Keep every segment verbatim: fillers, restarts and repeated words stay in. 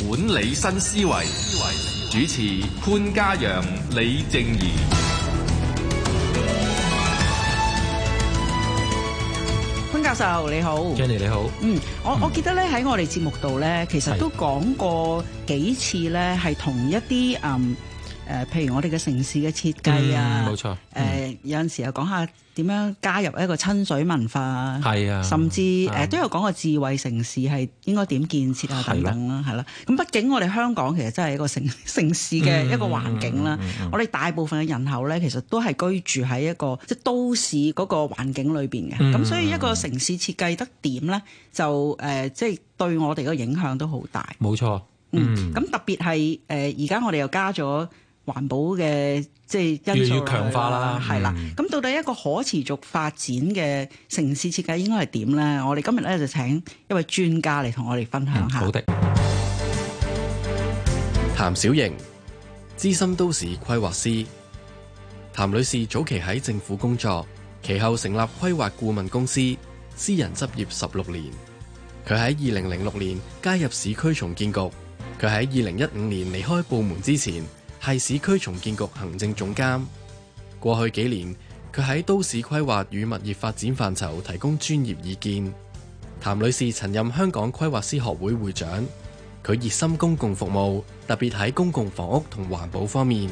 管理新思維，主持潘嘉陽、李靜宜。 潘教授你好 Jenny 你好。 嗯，我我記得咧喺我哋節目度咧，其實都講過幾次咧，係同一啲嗯誒、呃，譬如我哋嘅城市嘅設計啊， 冇、嗯、錯。誒、 嗯呃、有陣時又講下點樣加入一個親水文化，係啊，甚至誒、呃、都有講過智慧城市係應該點建設啊等等啦，係啦。咁畢竟我哋香港其實真係一個城城市嘅一個環境啦、嗯嗯嗯嗯，我哋大部分嘅人口咧，其實都係居住喺一個即係都市嗰個環境裏邊嘅，咁、嗯、所以一個城市設計得點咧，就誒、呃、即係對我哋個影響都好大。 冇錯， 嗯，咁、嗯、特別係誒而家我哋又加咗環保嘅即係因素， 越嚟越強化啦， 係啦。咁、嗯、到底一個可持續發展嘅城市設計應該係點咧？我哋今日咧就請一位專家嚟同我哋分享下。 嗯、好的。 譚小瑩，資深都市規劃師。譚女士早期喺政府工作，其後成立規劃顧問公司，私人執業十六年。佢喺二零零六年加入市區重建局，佢喺二零一五年離開部門之前，係市區重建局行政總監。過去幾年，佢喺都市規劃與物業發展範疇提供專業意見。譚女士曾任香港規劃師學會會長，佢熱心公共服務，特別喺公共房屋同環保方面。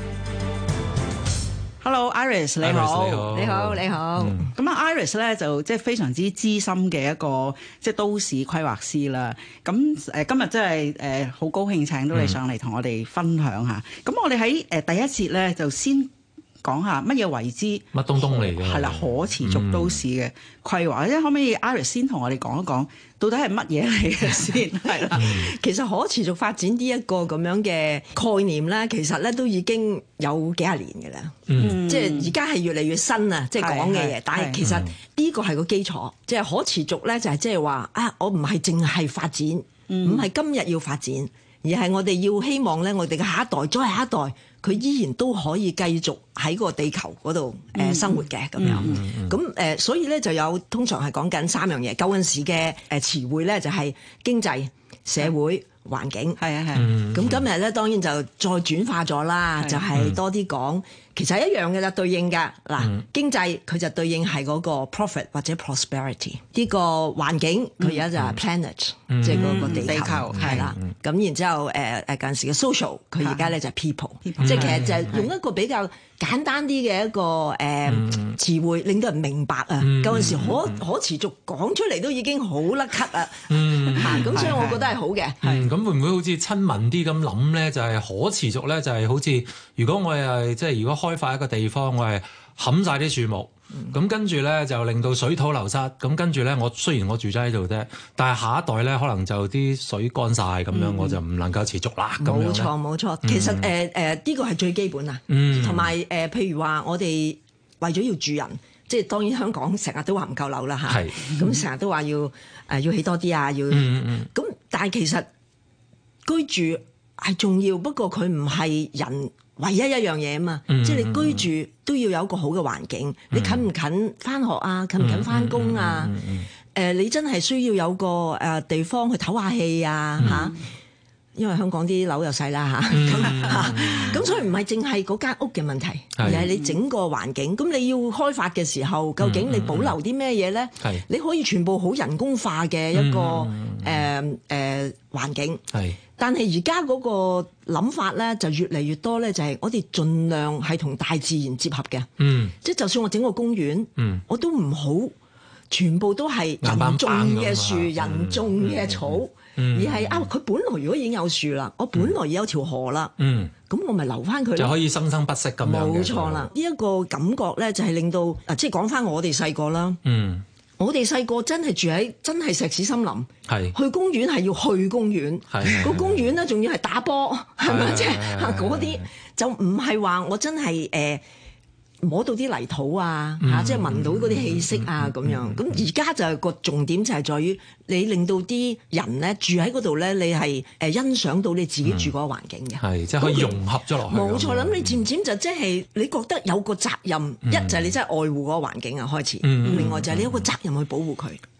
Hello Iris 你好， Iris, 你好，你好。咁、嗯、啊 Iris 咧就即係非常之資深嘅一個即係都市規劃師啦。咁誒今日真係誒好高興請到你上嚟同我哋分享下。咁、嗯、我哋喺誒第一節咧就先講下乜嘢為之乜東東嚟嘅， 係啦，可持續都市嘅規劃。即、嗯、係可唔可以 Iris 先同我哋講一講到底係乜嘢嚟嘅先？係啦， 其實可持續發展呢一個咁樣嘅概念咧，其實咧都已經有幾廿年嘅啦。嗯，即係而家係越嚟越新啊，即係講嘅嘢。但係其實呢個係個基礎，即係可持續咧，就係即係話啊，我唔係淨係發展，唔、嗯、係今日要發展，而係我哋要希望咧，我哋嘅下一代再下一代，佢依然都可以繼續喺個地球嗰度誒生活嘅咁、嗯、樣。咁、嗯、誒、呃，所以咧就有通常係講緊三樣嘢。舊陣時嘅誒詞彙咧就係經濟、社會、環境。係啊係。咁、嗯、今日咧當然就再轉化咗啦，就係、是、多啲講。其實係一樣嘅啦，對應㗎嗱、嗯，經濟佢就對應係嗰個 profit 或者 prosperity。呢個環境佢而家就係 planet，、嗯、即係嗰個地球係啦。咁、嗯、然之後誒誒近時嘅 social， 佢而家咧就係 people，, people 即係其實就係用一個比較簡單啲嘅一個誒、呃嗯、詞彙，令到人明白啊。舊、嗯、陣時可可持續講出嚟都已經好甩咳啊。嗯，嚇咁所以我覺得係好嘅。 係咁、嗯、會唔會好似親民啲咁諗咧？就係、是、可持續咧，就係好似如果我係即係如果開發一個地方，我係冚晒啲樹木，咁、嗯、跟住咧就令到水土流失，咁跟住咧我雖然我住咗喺度啫，但係下一代咧可能就啲水乾晒咁樣、嗯，我就唔能夠持續啦。冇錯冇錯，其實誒誒呢個係最基本啊，同埋誒譬如話我哋為咗要住人，即係當然香港成日都話唔夠樓啦嚇，咁成日都話要誒、呃、要起多啲啊，要咁、嗯，但係其實居住係重要，不過佢唔係人唯一一樣嘢啊嘛，嗯、即係你居住都要有一個好嘅環境。嗯、你近唔近返學啊？近唔近返工啊？誒、嗯嗯呃，你真係需要有個誒地方去唞下氣啊嚇、嗯。因為香港啲樓又細啦嚇，咁、嗯、咁、嗯、所以唔係淨係嗰間屋嘅問題，而係你整個環境。咁你要開發嘅時候，究竟你保留啲咩嘢咧？你可以全部好人工化嘅一個誒誒、嗯呃呃、環境。但係而家嗰個諗法咧就越嚟越多咧，就係我哋盡量係同大自然接合嘅。嗯，即係就算我整個公園，嗯，我都唔好全部都係人種嘅樹、嗯、人種嘅草，嗯、而係啊，佢本來如果已經有樹啦，我本來已有條河啦，嗯，咁我咪留翻佢就可以生生不息咁樣。 冇錯啦，呢、這、一個感覺咧就係令到啊，即係講翻我哋細個啦，嗯。我哋細個真係住喺真係石屎森林，去公園係要去公園，個公園咧仲要係打波，係咪即係嗰啲就唔係話我真係誒。呃摸到啲泥土啊，嚇、嗯，即係聞到嗰啲氣息啊，咁、嗯、樣。咁而家就係個重點就係在於你令到啲人咧住喺嗰度咧，你係誒欣賞到你自己住嗰個環境嘅，係即係可以融合咗落去。冇錯，咁你漸漸就即係你覺得有個責任，嗯、一就係你真係愛護嗰個環境啊開始，嗯、另外就係你有個責任去保護佢。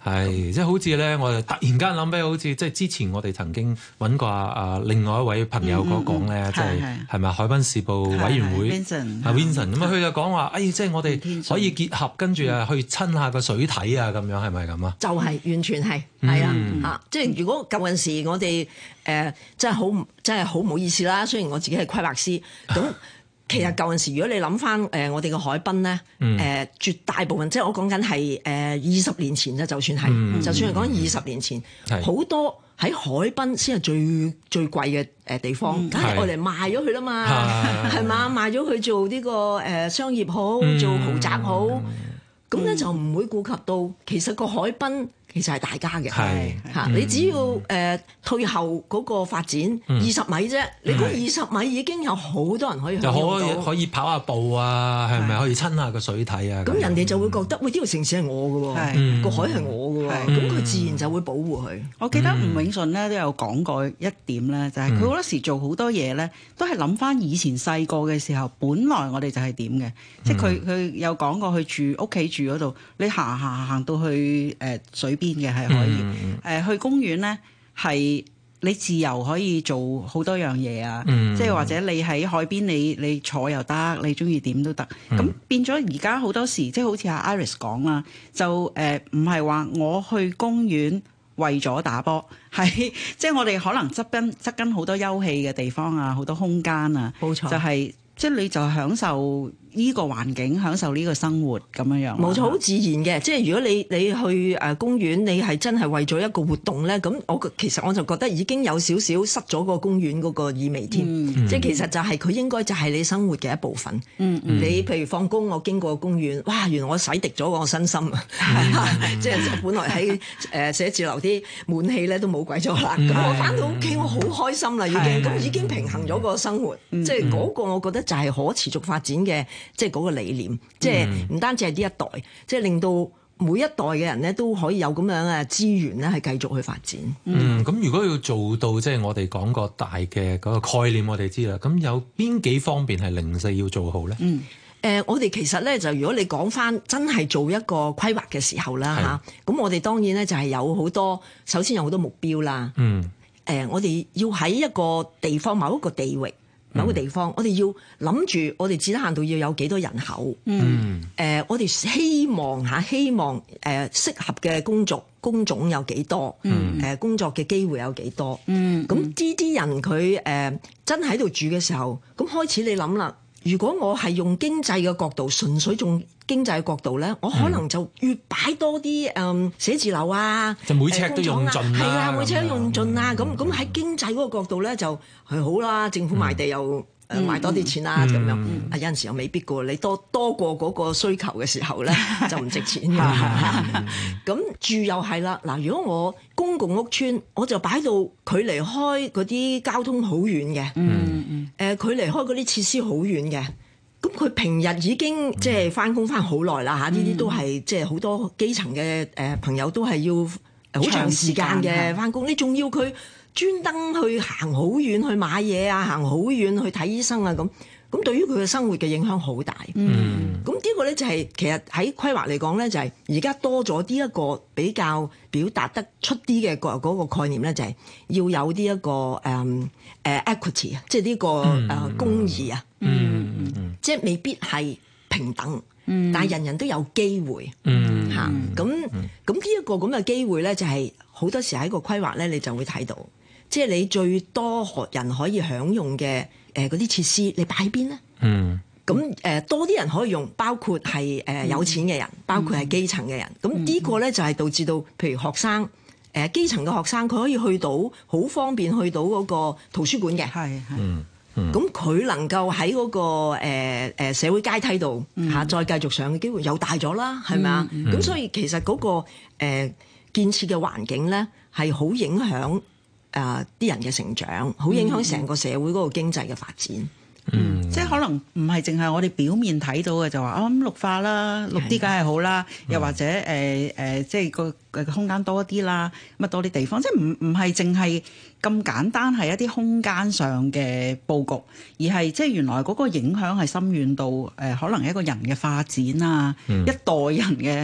係，即係好似咧，我就突然間諗起，好似即係之前我哋曾經揾過啊另外一位朋友嗰講咧，即係係咪海濱事務委員會啊 Vincent 咁啊，佢就講話，誒即係我哋可以結合，跟住啊去親下個水體啊，咁樣係咪咁啊？ 就係完全係係啊嚇！即係如果舊陣時我哋誒真係好真係好唔好意思啦，雖然我自己係規劃師咁。其實舊陣時，如果你諗翻誒我哋嘅海濱咧，誒、嗯呃、絕大部分即係我講緊係誒二十年前啫，就算係，嗯、就算係講二十年前，好、嗯、多喺海濱先係最最貴嘅誒地方，梗係我嚟賣咗佢啦嘛，係嘛、嗯、賣咗佢做呢個誒商業好，做豪宅好，咁咧、嗯、就唔會顧及到其實個海濱。其實係大家嘅，嚇你只要誒、呃、退後嗰個發展二十米啫，你嗰二十米已經有好多人可以享用到， 就可以可以跑下步啊，係咪可以親下個水體啊？ 咁人哋就會覺得，喂，呢個城市係我嘅喎，個海係我嘅喎，咁佢自然就會保護佢。 我記得吳永順咧都有講過一點咧，就係佢好多時做好多嘢咧，都係諗翻以前細個嘅時候，本來我哋就係點嘅，即係佢佢有講過去住屋企住嗰度，你行行行到去誒水邊嘅係可以，誒、嗯呃、去公園咧係你自由可以做好多樣嘢啊，嗯、即係或者你喺海邊你你坐又得，你中意點都得。咁、嗯、變咗而家好多時，即係好似阿 Iris 講啦，就誒唔係話我去公園為咗打波，係即係我哋可能側跟側跟好多休憩嘅地方啊，好多空間啊，冇錯，就係、是、即係你就享受呢個環境，享受呢個生活咁樣樣， 冇錯，好自然嘅。即係如果你你去誒公園，你係真係為咗一個活動咧，咁我其實我就覺得已經有少少失咗個公園嗰個意味添。嗯、即係其實就係佢應該就係你生活嘅一部分。嗯嗯、你譬如放工，我經過公園，哇！原來我洗滌咗我身心啊！嗯、即係本來喺誒寫字樓啲悶氣咧都冇鬼咗啦。咁、嗯、我翻到屋企，我好開心啦，已經咁、嗯、已經平衡咗個生活。嗯、即係嗰個我覺得就係可持續發展嘅。即係嗰個理念，即係唔單止係呢一代，即係令到每一代嘅人咧都可以有咁樣嘅資源咧，係繼續去發展。 嗯，咁如果要做到即係我哋講個大嘅嗰個概念，我哋知啦。咁有邊幾方面係零舍要做好咧？嗯， 誒、呃，我哋其實咧就如果你講翻真係做一個規劃嘅時候啦嚇，咁是我哋當然咧就係有好多，首先有好多目標啦。嗯，誒、呃，我哋要喺一個地方某一個地域。某個地方，我哋要諗住，我哋至低限度要有幾多人口。嗯，誒、呃，我哋希望嚇，希望誒、呃、適合嘅工作工種有幾多？嗯，誒、呃、工作嘅機會有幾多？嗯，咁呢啲人佢誒、呃、真喺度住嘅時候，咁開始你諗啦。如果我係用經濟嘅角度，純粹用經濟嘅角度咧，我可能就越擺多啲誒寫字樓啊， 就每尺都用盡啦。 係啊，每尺都用盡啦。咁咁喺經濟嗰個角度咧，就係好啦。政府賣地又誒賣多啲錢啦，咁樣啊有陣時又未必㗎。你多多過嗰個需求嘅時候咧，就唔值錢㗎。咁住又係啦。嗱，如果我公共屋邨，我就擺到距離開嗰啲交通好遠嘅。嗯嗯。誒，距離開嗰啲設施好遠嘅。咁佢平日已經即係返工返好耐啦嚇，呢啲都係即係好多基層嘅誒朋友都係要好長時間嘅返工，你仲要佢專登去行好遠去買嘢啊，行好遠去睇醫生啊咁，咁對於佢嘅生活嘅影響好大。嗯，咁呢個咧就係其實喺規劃嚟講咧，就係而家多咗呢一個比較表達得出啲嘅個嗰個概念咧，就係要有呢一個誒誒 equity 啊，即係呢個誒公義啊。嗯嗯嗯，即係未必係平等，嗯、但係人人都有機會，嚇咁咁呢一個咁嘅機會咧，就係好多時喺個規劃咧，你就會睇到，即係你最多人可以享用嘅誒嗰啲設施，你擺喺邊咧？嗯，咁誒、呃、多啲人可以用，包括係誒、呃、有錢嘅人，包括係基層嘅人，咁呢個咧就係導致到，譬如學生誒、呃、基層嘅學生，佢可以去到好方便去到嗰個圖書館嘅，係係。咁佢、嗯、能夠喺嗰、那個誒、呃、社會階梯度嚇、嗯、再繼續上嘅機會又大咗啦，係咪啊？咁、嗯、所以其實嗰、那個誒、呃、建設嘅環境咧係好影響誒啲、呃、人嘅成長，好影響成個社會嗰個經濟嘅發展。 嗯，嗯即係可能唔係淨係我哋表面睇到嘅，就話啊咁綠化啦，綠啲梗係好啦，的又或者誒誒、呃呃，即係個個空間多啲啦，咁啊多啲地方，即係唔唔係淨係咁簡單係一啲空間上嘅佈局，而係即係原來嗰個影響係深遠到誒、呃，可能一個人嘅發展啊，嗯、一代人嘅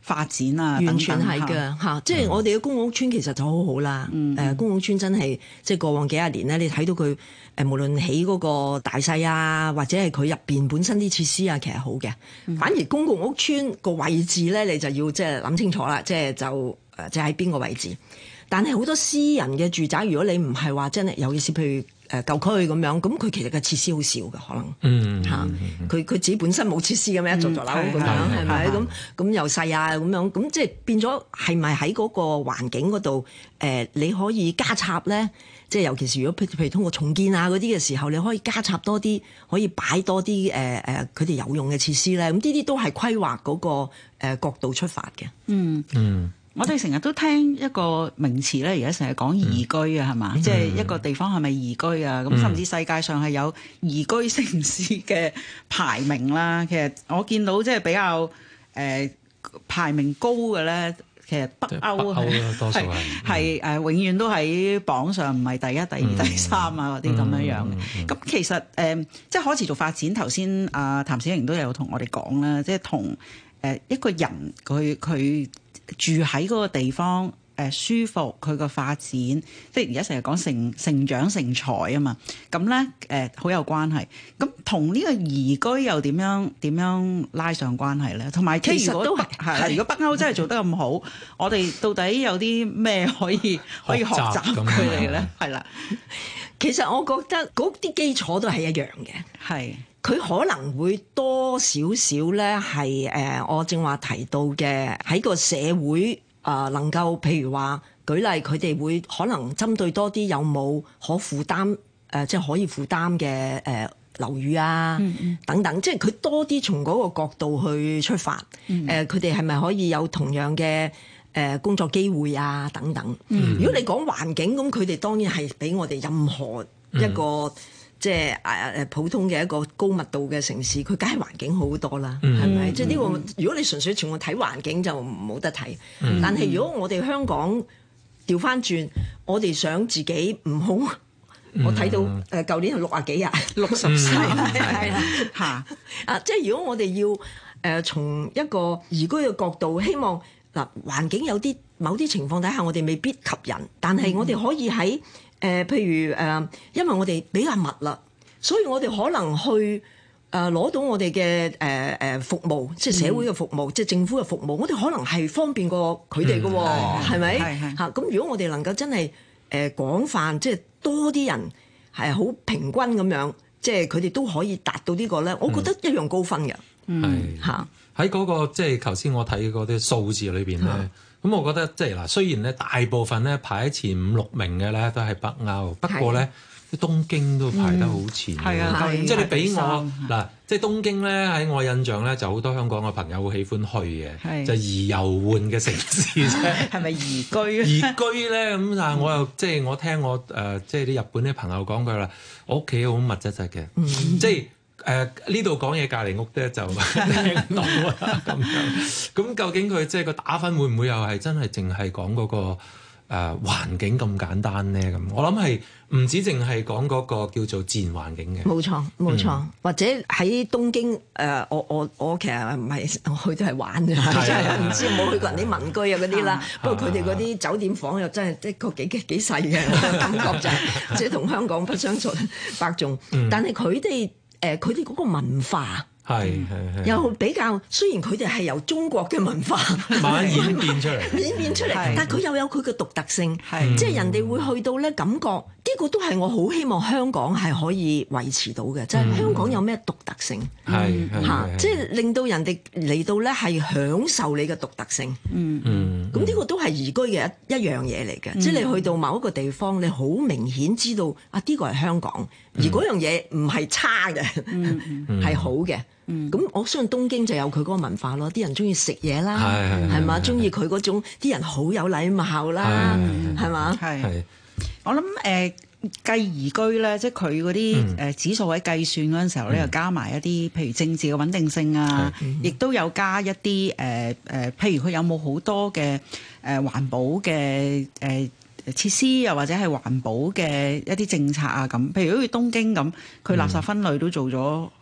發展啊， 完全係嘅嚇，即係我哋嘅公共屋邨其實就好好啦。誒、嗯呃，公共屋邨真係即係過往幾廿年咧，你睇到佢誒無論起嗰個大細啊，或者係佢入邊本身啲設施啊，其實好嘅。嗯、反而公共屋邨個位置咧，你就要即係諗清楚啦，即係就誒即係喺邊個位置。但係好多私人嘅住宅，如果你唔係話真係，尤其是譬如誒舊區咁樣，咁佢其實嘅設施好少嘅，可能嚇佢佢自己本身冇設施嘅咩，一座座樓咁樣係咪？咁咁又細啊咁樣，咁即係變咗係咪喺嗰個環境嗰度誒你可以加插咧？即係尤其是如果譬如通過重建啊嗰啲嘅時候，你可以加插多啲，可以擺多啲誒誒佢哋有用嘅設施咧。咁呢啲都係規劃嗰個誒角度出發嘅。嗯嗯。我哋成日都聽一個名詞咧，而家成日講宜居啊，係嘛？即係一個地方係咪宜居啊？咁甚至世界上係有宜居城市嘅排名啦。其實我見到即係比較誒、呃、排名高嘅咧，其實北歐係多數係係誒永遠都喺榜上，唔係第一、第二、嗯、第三啊嗰啲咁樣樣嘅。咁、嗯、其實誒、呃、即係可持續發展，頭先阿譚小瑩都有同我哋講啦，即係同誒一個人佢佢。住喺嗰個地方，誒、呃、舒服，佢個發展，即係而家成日講成成長成才啊嘛，咁咧誒好有關係。咁同呢個宜居又點樣點樣拉上關係咧？同埋其實都係係，如果北歐真係做得咁好，我哋到底有啲咩可以可以學習佢哋咧？係啦， 其實我覺得嗰啲基礎都係一樣嘅，係。佢可能會多少少咧，係誒我正話提到嘅喺個社會啊、呃，能夠譬如話舉例，佢哋會可能針對多啲有冇可負擔誒、呃，即係可以負擔嘅誒樓宇啊，嗯嗯等等，即係佢多啲從嗰個角度去出發。誒佢哋係咪可以有同樣嘅誒、呃、工作機會啊？等等。嗯、如果你講環境，咁佢哋當然係比我哋任何一個。嗯即係誒誒普通嘅一個高密度嘅城市，佢梗係環境好多啦，係咪、嗯？即係呢個，如果你純粹從我睇環境就冇得睇。嗯、但係如果我哋香港調翻轉，我哋想自己唔好，嗯、我睇到誒舊年係六啊幾啊，六十歲係啦嚇啊！即係如果我哋要誒、呃、從一個宜居嘅角度，希望嗱環境有啲某啲情況底下，我哋未必及人，但係我哋可以喺誒、呃，譬如誒、呃，因為我哋比較密啦，所以我哋可能去誒攞、呃、到我哋嘅誒誒服務，即係社會嘅服務，嗯、即係政府嘅服務，我哋可能係方便過佢哋嘅喎，係咪？嚇咁，如果我哋能夠真係誒、呃、廣泛，即係多啲人係好平均咁樣，即係佢哋都可以達到個呢個咧，我覺得一樣高分嘅。 係嚇喺嗰個即係頭先我睇嗰啲數字裏邊咧。嗯咁我覺得即係嗱，雖然咧大部分咧排喺前五六名嘅咧都係北歐，不過咧啲東京都排得好前。係啊、嗯，即係你俾我嗱，即係東京咧喺我印象咧就好多香港嘅朋友好喜歡去嘅，就宜遊玩嘅城市啫。係咪宜居啊？宜居咧咁，但係我又即係我聽我誒即係啲日本啲朋友講佢啦，我屋企好密質質嘅，嗯、即係。誒呢度講嘢隔離屋咧就聽唔到啊咁樣，咁究竟佢即係個打分會唔會又係真係淨係講嗰個誒、呃、環境咁簡單咧？咁我諗係唔止淨係講嗰個叫做自然環境嘅。冇錯冇錯，嗯、或者喺東京誒、呃，我我我其實唔係我去都係玩啫，真係唔知冇去過人啲民居啊嗰啲啦。不過佢哋嗰啲酒店房又真係的確幾幾細嘅感覺就係，即係同香港不相同伯仲。但係佢哋。誒佢哋嗰個文化係係係又比較，雖然佢哋係由中國嘅文化慢慢演變出嚟，演變出嚟，但係佢又有佢嘅獨特性，係即係人哋會去到咧感覺呢個都係我好希望香港係可以維持到嘅，即係香港有咩獨特性係嚇，即係令到人哋嚟到咧係享受你嘅獨特性，嗯嗯，咁呢個都係宜居嘅一一樣嘢嚟嘅，即係你去到某一個地方，你好明顯知道啊呢個係香港，而嗰樣嘢唔係差嘅，係好嘅。咁、嗯、我相信東京就有佢嗰個文化咯，啲人中意食嘢啦，係嘛？中意佢嗰種啲人好有禮貌啦，係嘛？係我諗誒計宜居咧，即係佢嗰啲誒指數喺計算嗰陣時候咧，又、嗯、加埋一啲譬如政治嘅穩定性啊，亦都有加一啲誒誒，譬如佢有冇好多嘅誒環保嘅誒。呃設施又或者係環保嘅一啲政策啊咁，譬如好似東京咁，佢垃圾分類都做咗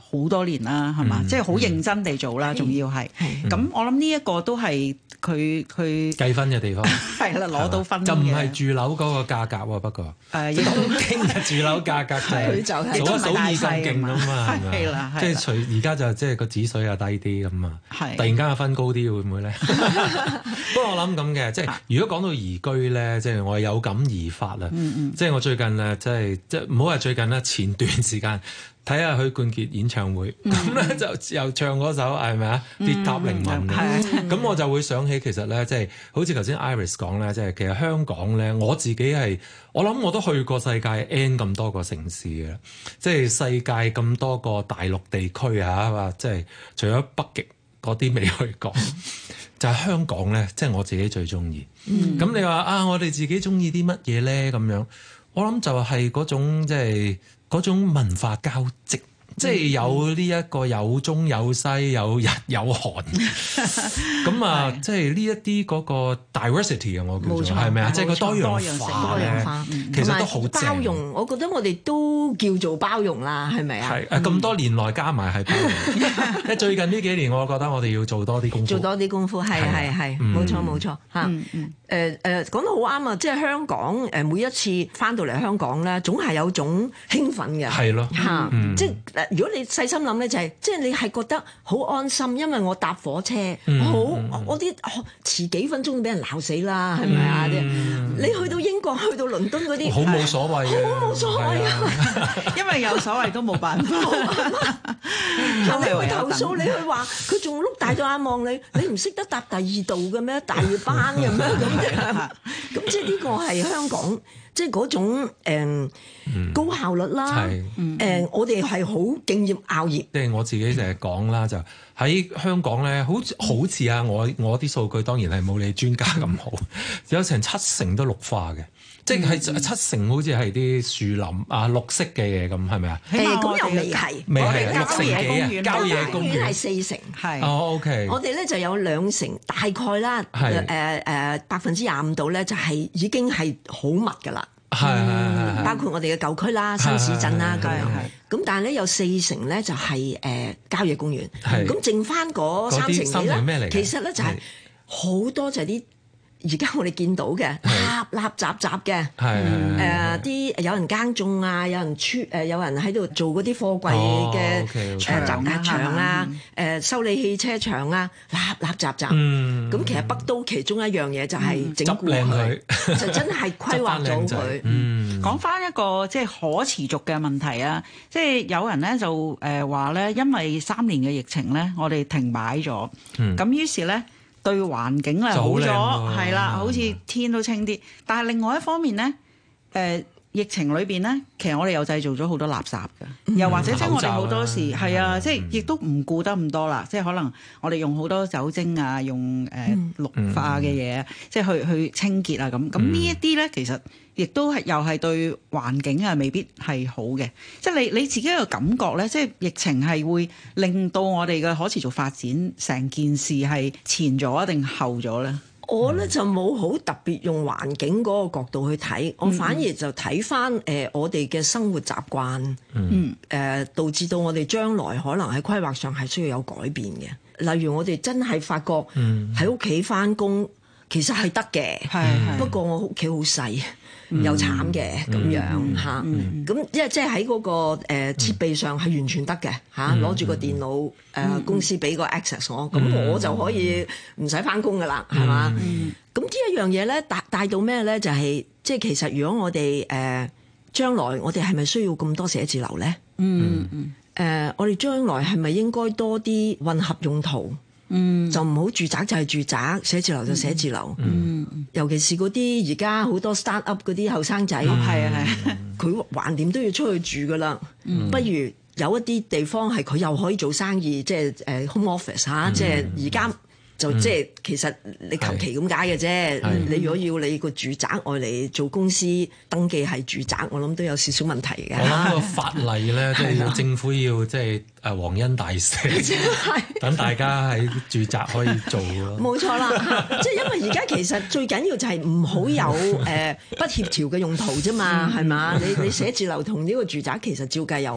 好多年啦，係嘛？即係好認真地做啦，仲要係。咁我諗呢一個都係佢佢計分嘅地方。 係啦，攞到分嘅。 就唔係住樓嗰個價格喎，不過。誒，東京嘅住樓價格就係數一數二咁勁啊嘛，係咪？係啦，即係隨而家就即係個指水又低啲咁啊。係。突然間個分高啲會唔會咧？不過我諗咁嘅，即係如果講到移居咧，即係我有感而發啦。即係我最近咧，即係即係唔好話最近啦，前段時間。睇下許冠傑演唱會，咁咧、嗯、就又唱嗰首係咪啊？跌塔凌雲，咁、嗯、我就會想起其實咧，即、就、係、是、好似頭先 Iris 講咧，即、就、係、是、其實香港咧，我自己係我諗我都去過世界 N 咁多個城市嘅，即係世界咁多個大陸地區啊，話即係除咗北極嗰啲未去過，就係香港咧，即、就、係、是、我自己最中意。咁、嗯、你話啊，我哋自己中意啲乜嘢咧？咁樣我諗就係嗰種即係。嗰種文化交織，即係有呢一個有中有西，有日有韓，咁啊，即係呢一啲嗰個 diversity 啊，我叫做係咪啊？即係個多樣化咧，其實都好包容。我覺得我哋都叫做包容啦，係咪啊？ 係誒，咁多年來加埋係包容。即係最近呢幾年，我覺得我哋要做多啲功夫， 做多啲功夫，係係係，冇錯冇錯嚇。誒誒講得好啱啊！即係香港誒每一次翻到嚟香港咧，總係有種興奮嘅， 係咯嚇。即係如果你細心諗咧，就係即係你係覺得好安心，因為我搭火車好，我啲遲幾分鐘都俾人鬧死啦，係咪啊？你去到英國、去到倫敦嗰啲， 好冇所謂嘅， 好冇所謂啊！ 因為有所謂都冇辦法。 你去投訴，你去話佢仲碌大咗眼望你，你唔識得搭第二度嘅咩？大班嘅咩咁？咁即係呢個係香港，即係嗰種、嗯、高效率啦。誒、嗯呃，我哋係好敬業熬業。即係我自己成日講啦，就喺香港咧，好好似啊，我我啲數據當然係冇你專家咁好，有成七成都綠化嘅。即係七成好似係啲樹林啊綠色嘅嘢咁，係咪啊？ 誒咁又未係， 未係六成幾啊？郊野公園係四成， 係哦 OK。 我哋咧就有兩成，大概啦，誒誒百分之廿五度咧，就係已經係好密㗎啦。 係係係， 包括我哋嘅舊區啦、新市鎮啦咁樣。咁但係咧有四成咧就係誒郊野公園。係咁剩翻嗰三成幾咧，其實咧就係好多就係啲。而家我哋見到嘅垃垃雜雜嘅，誒啲有人耕種啊，有人出誒有人喺度做嗰啲貨櫃嘅誒集壓場啊，誒修理汽車場啊，垃垃雜雜。咁其實北都其中一樣嘢就係整固佢，就真係規劃咗佢。 講翻一個即係可持續嘅問題啊，即係有人咧就誒話咧，因為三年嘅疫情咧，我哋停擺咗，咁於是咧。對環境咧好咗，係啦，好似天都清啲。但係另外一方面咧，誒、呃、疫情裏邊咧，其實我哋又製造咗好多垃圾嘅，嗯、又或者即係我哋好多時係啊，即係亦都唔顧得咁多啦。即係可能我哋用好多酒精啊，用誒、呃、氯化嘅嘢，嗯、即係去去清潔啊咁。咁呢一啲咧，其實亦都係又係對環境啊，未必係好嘅。即係你你自己嘅感覺咧，即係疫情係會令到我哋嘅可持續發展成件事係前咗定後咗咧？ 我咧就冇好特別用環境嗰個角度去睇，我反而就睇翻誒我哋嘅生活習慣，嗯誒、呃、導致到我哋將來可能喺規劃上係需要有改變嘅。例如我哋真係發覺喺屋企翻工其實係得嘅，嗯、不過我屋企好細。又慘嘅咁樣嚇，咁因為即係喺嗰個誒設備上係完全得嘅嚇，攞住個電腦誒公司俾個 access 我，咁我就可以唔使翻工噶啦，係嘛？咁呢一樣嘢咧帶帶到咩咧？就係即係其實如果我哋誒將來我哋係咪需要咁多寫字樓咧？嗯嗯誒，我哋將來係咪應該多啲混合用途？嗯，就唔好住宅就係住宅，寫字樓就寫字樓。嗯，尤其是嗰啲而家好多 start up 嗰啲後生仔，係啊係，佢橫掂都要出去住噶啦。嗯、不如有一啲地方係佢又可以做生意，即係誒 home office 嚇、嗯，即係而家。就即係其實你求其咁解嘅啫。你如果要你個住宅外嚟做公司登記係住宅，我諗都有少少問題嘅。 我諗個法例咧，即係政府要即係誒皇恩大赦，等大家喺住宅可以做咯。 冇錯啦，即係因為而家其實最緊要就係唔好有誒不協調嘅用途啫嘛，係嘛？你你寫字樓同呢個住宅其實照計又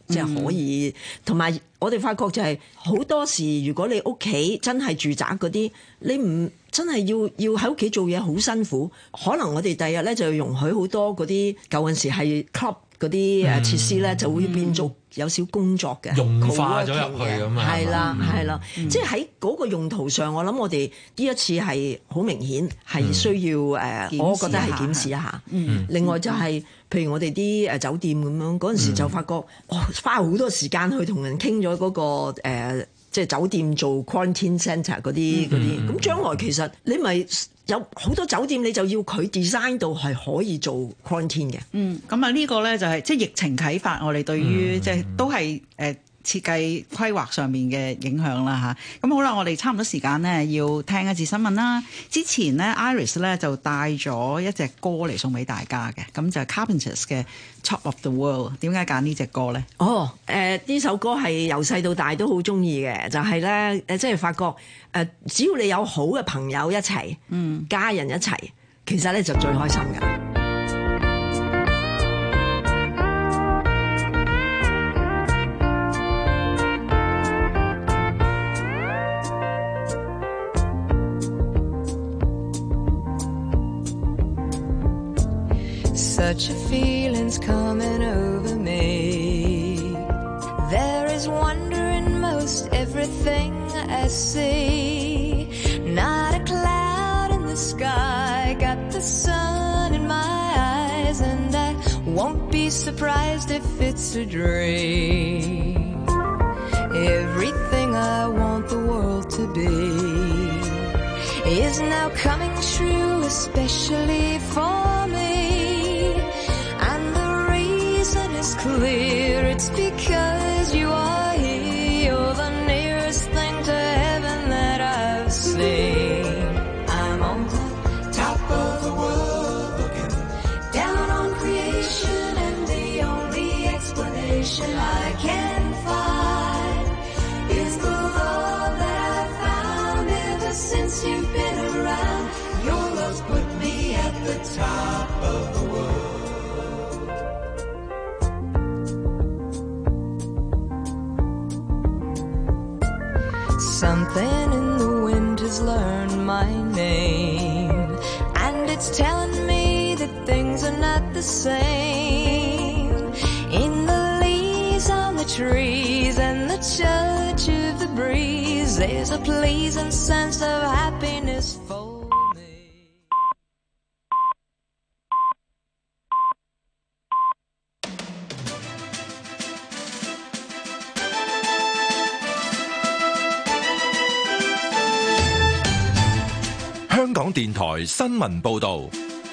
即係可以。同埋、嗯、我哋發覺就係好多時，如果你屋企真係住宅嗰啲，你唔真係要要喺屋企做嘢好辛苦，可能我哋第日咧就要容許好多嗰啲舊陣時係 club 嗰啲誒設施咧，就會變做有少工作嘅融化咗入去咁啊， 係啦係啦，即係喺嗰個用途上，我諗我哋呢一次係好明顯係需要誒，嗯、我覺得係檢視一下。嗯、另外就係、是、譬如我哋啲誒酒店咁樣，嗰陣時就發覺，嗯、哦，花好多時間去同人傾咗嗰個誒。呃即係酒店做 quarantine centre 嗰啲嗰啲，咁將來其實你咪有好多酒店，你就要佢 design 到係可以做 quarantine 嘅。 嗯，咁啊呢個咧就係即係疫情啟發我哋對於即係都係誒設計規劃上面嘅影響啦嚇。咁好啦，我哋差唔多時間呢，要聽一節新聞啦。之前呢 Iris 咧就帶咗一隻歌嚟送俾大家嘅，咁就係 Carpenters 嘅 Top of the World。點解揀呢隻歌咧？ 哦，誒、呃、呢首歌係由細到大都好中意嘅，就係咧誒，即係發覺誒、呃，只要你有好嘅朋友一齊，嗯，家人一齊，其實咧就最開心㗎。 Such a feeling's coming over me. There is wonder in most everything I see. Not a cloud in the sky, got the sun in my eyes, and I won't be surprised if it's a dream. Everything I want the world to be is now coming true, especially for me.It's clear, it's because you are here. You're the nearest thing to heaven that I've seen. I'm on the top of the world, looking down on creation, and the only explanation I can find is the love that I've found ever since you've been around. Your love's put me at the top of the world.Something in the wind has learned my name, and it's telling me that things are not the same. In the leaves on the trees and the touch of the breeze, there's a pleasing sense of happiness for me. 香港電台新聞報導，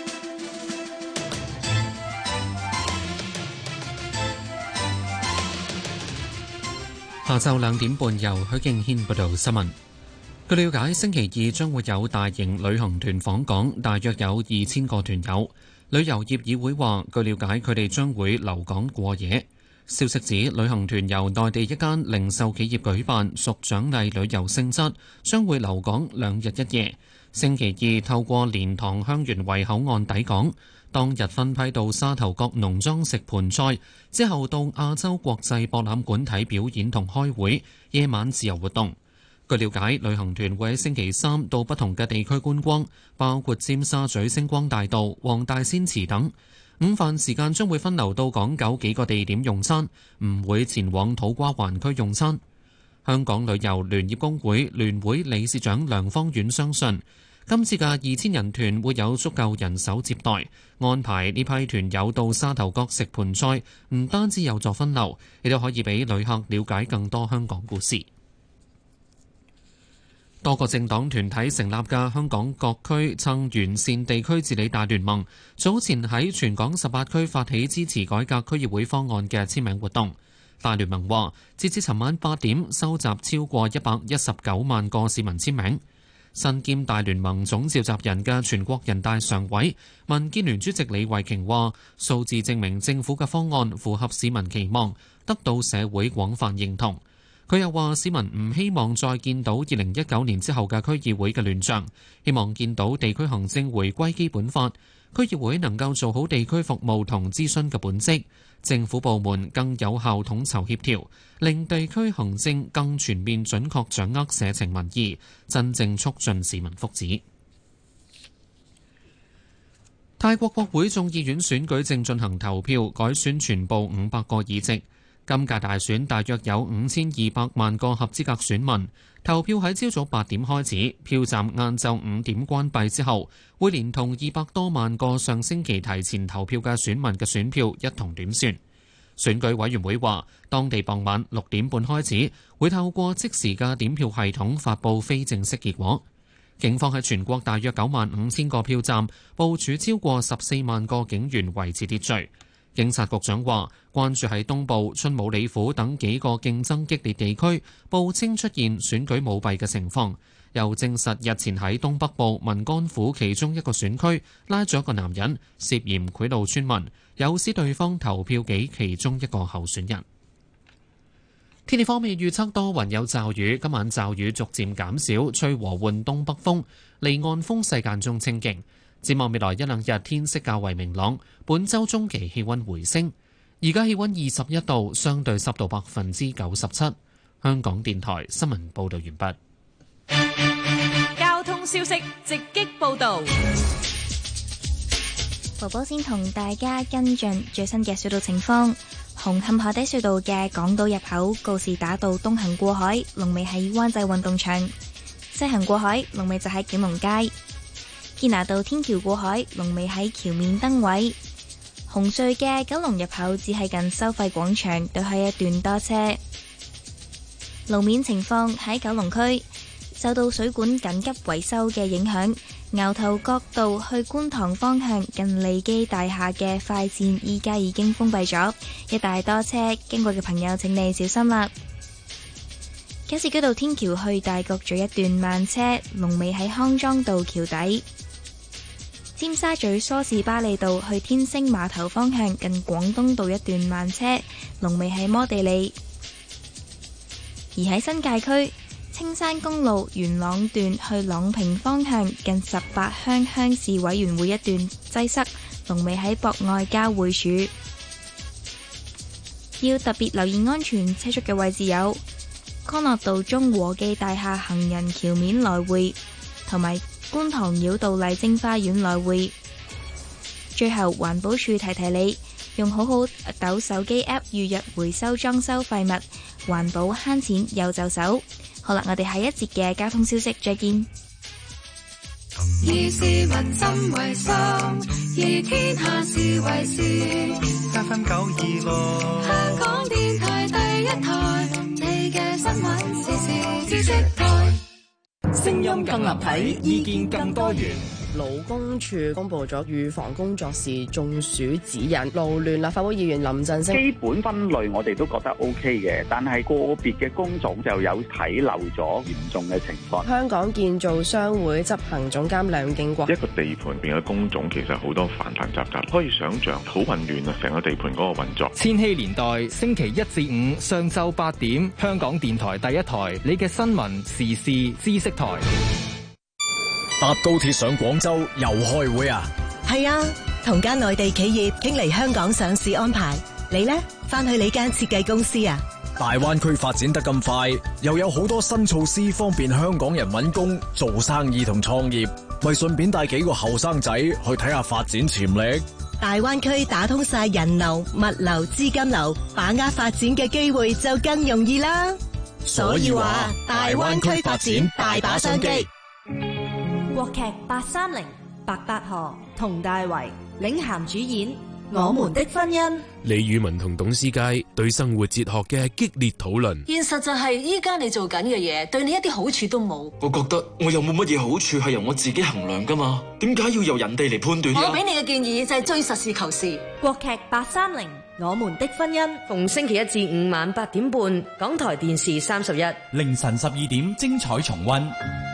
下晝兩點半由許敬軒報道新聞。據了解，星期二將會有大型旅行團訪港，大約有二千個團友。旅遊業議會話，據了解，佢哋將會留港過夜。消息指，旅行團由內地一間零售企業舉辦，屬獎勵旅遊性質，將會留港兩日一夜。星期二透過蓮塘香園圍口岸抵港，當日分批到沙頭角農莊食盆菜，之後到亞洲國際博覽館睇表演同開會，夜晚自由活動。據了解，旅行團會喺星期三到不同嘅地區觀光，包括尖沙咀星光大道、黃大仙祠等。午飯時間將會分流到港九幾個地點用餐，唔會前往土瓜灣區用餐。香港旅遊聯業工會聯會理事長梁芳遠相信，今次嘅二千人團會有足夠人手接待，安排呢批團友到沙頭角食盆菜，唔單止有助分流，亦都可以俾旅客了解更多香港故事。多個政黨團體成立嘅香港各區撐完善地區治理大聯盟，早前喺全港十八區發起支持改革區議會方案嘅簽名活動。大聯盟話，截至尋晚八點，收集超過一百一十九萬個市民簽名。身兼大聯盟總召集人嘅全國人大常委、民建聯主席李慧瓊話，數字證明政府嘅方案符合市民期望，得到社會廣泛認同。佢又話，市民唔希望再見到二零一九年之後嘅區議會嘅亂象，希望見到地區行政回歸基本法，區議會能夠做好地區服務同諮詢嘅本職， 政府部門更有效統籌協調，令地區行政更全面準確掌握社情民意，真正促進市民福祉。泰國國會眾議院選舉正進行投票，改選全部五百個議席。今屆大選大約有五千二百萬個合資格選民，投票喺朝早八點開始，票站晏晝五點關閉之後，會連同二百多萬個上星期提前投票嘅選民嘅選票一同點算。選舉委員會話，當地傍晚六點半開始，會透過即時嘅點票系統發布非正式結果。警方喺全國大約九萬五千個票站部署超過十四萬個警員維持秩序。警察局長話，關注喺東部、春武里府等幾個競爭激烈地區報稱出現選舉舞弊嘅情況，又證實日前喺東北部文干府其中一個選區拉咗一個男人，涉嫌賄賂村民，誘使對方投票給其中一個候選人。天氣方面預測多雲有驟雨，今晚驟雨逐漸減少，吹和緩東北風，離岸風勢間中清勁。展望未來一兩日天色較為明朗，本週中期氣溫回升。而家氣溫二十一度，相對濕度百分之九十七。香港電台新聞報道完畢。交通消息直擊報道。 寶寶先同大家跟進最新嘅隧道情況。紅磡海底隧道嘅港島入口告士打道東行過海，龍尾喺灣仔運動場；西行過海，龍尾就喺景隆街。堅拿道天橋過海，龍尾喺橋面燈位。紅隧嘅九龍入口只係近收費廣場對開一段多車。路面情況喺九龍區，受到水管緊急維修嘅影響，牛頭角道去觀塘方向近利基大廈嘅快線依家已經封閉咗，一大多車，經過嘅朋友請你小心啦。加士居道天橋去大角咀一段慢車，龍尾喺康莊道橋底。尖沙咀梳士巴利道去天星碼頭方向近廣東道一段慢車，龍尾喺摩地里。而喺新界區，青山公路元朗段去朗屏方向近十八鄉鄉事委員會一段擠塞，龍尾喺博愛交匯處。要特別留意安全車速嘅位置有康樂道中和記大廈行人橋面來回，同埋觀塘繞道麗晶花園來回。最後環保署提提你，用好好抖手機 App 預約回收裝修廢物，環保慳錢又就手。好啦，我哋下一節嘅交通消息再見。 以市民心為心，以天下事為事。三分九二六，香港電台第一台，你嘅新聞時事知識台。 聲音更立體，意見更多元。 勞工處公布咗預防工作時中暑指引。勞聯立法會議員林振昇， 基本分類我哋都覺得 O K 嘅，但係個別嘅工種就有睇漏咗嚴重嘅情況。 香港建造商會執行總監梁敬國， 一個地盤入邊嘅工種其實好多繁繁雜雜，可以想像好混亂啊！成個地盤嗰個運作。 千禧年代星期一至五上晝八點，香港電台第一台，你嘅新聞時事知識台。 搭高鐵上廣州又開會啊？ 係啊，同間內地企業傾嚟香港上市安排。你呢？返去你間設計公司啊？ 大灣區發展得咁快，又有好多新措施方便香港人搵工、做生意同創業，咪順便帶幾個後生仔去睇下發展潛力。 大灣區打通晒人流、物流、資金流，把握發展嘅機會就更容易啦。所以話，大灣區發展大把商機。 國劇八三零，白百何、佟大為領銜主演《我們的婚姻》。 李宇文同董思佳對生活哲學嘅激烈討論。 現實就係依家你做緊嘅嘢，對你一啲好處都冇。 我覺得我又冇乜嘢好處係由我自己衡量噶嘛，點解要由人哋嚟判斷？ 我俾你嘅建議就係追實事求是。 國劇八三零，《我們的婚姻》， 逢星期一至五晚八點半，港台電視三十一， 凌晨十二點精彩重溫。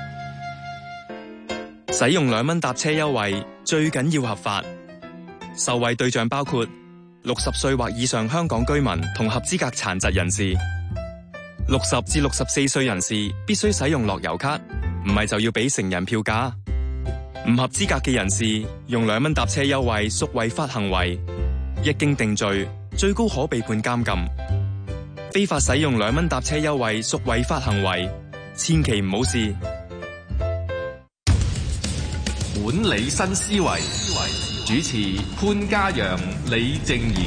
使用兩蚊搭車優惠，最緊要合法。受惠對象包括六十歲或以上香港居民同合資格殘疾人士。六十至六十四歲人士必須使用樂悠卡，唔係就要俾成人票價。唔合資格嘅人士用兩蚊搭車優惠屬違法行為，一經定罪， 最高可被判監禁。非法使用兩蚊搭車優惠屬違法行為，千祈唔好試。 管理新思維，主持潘嘉陽、李靜宜。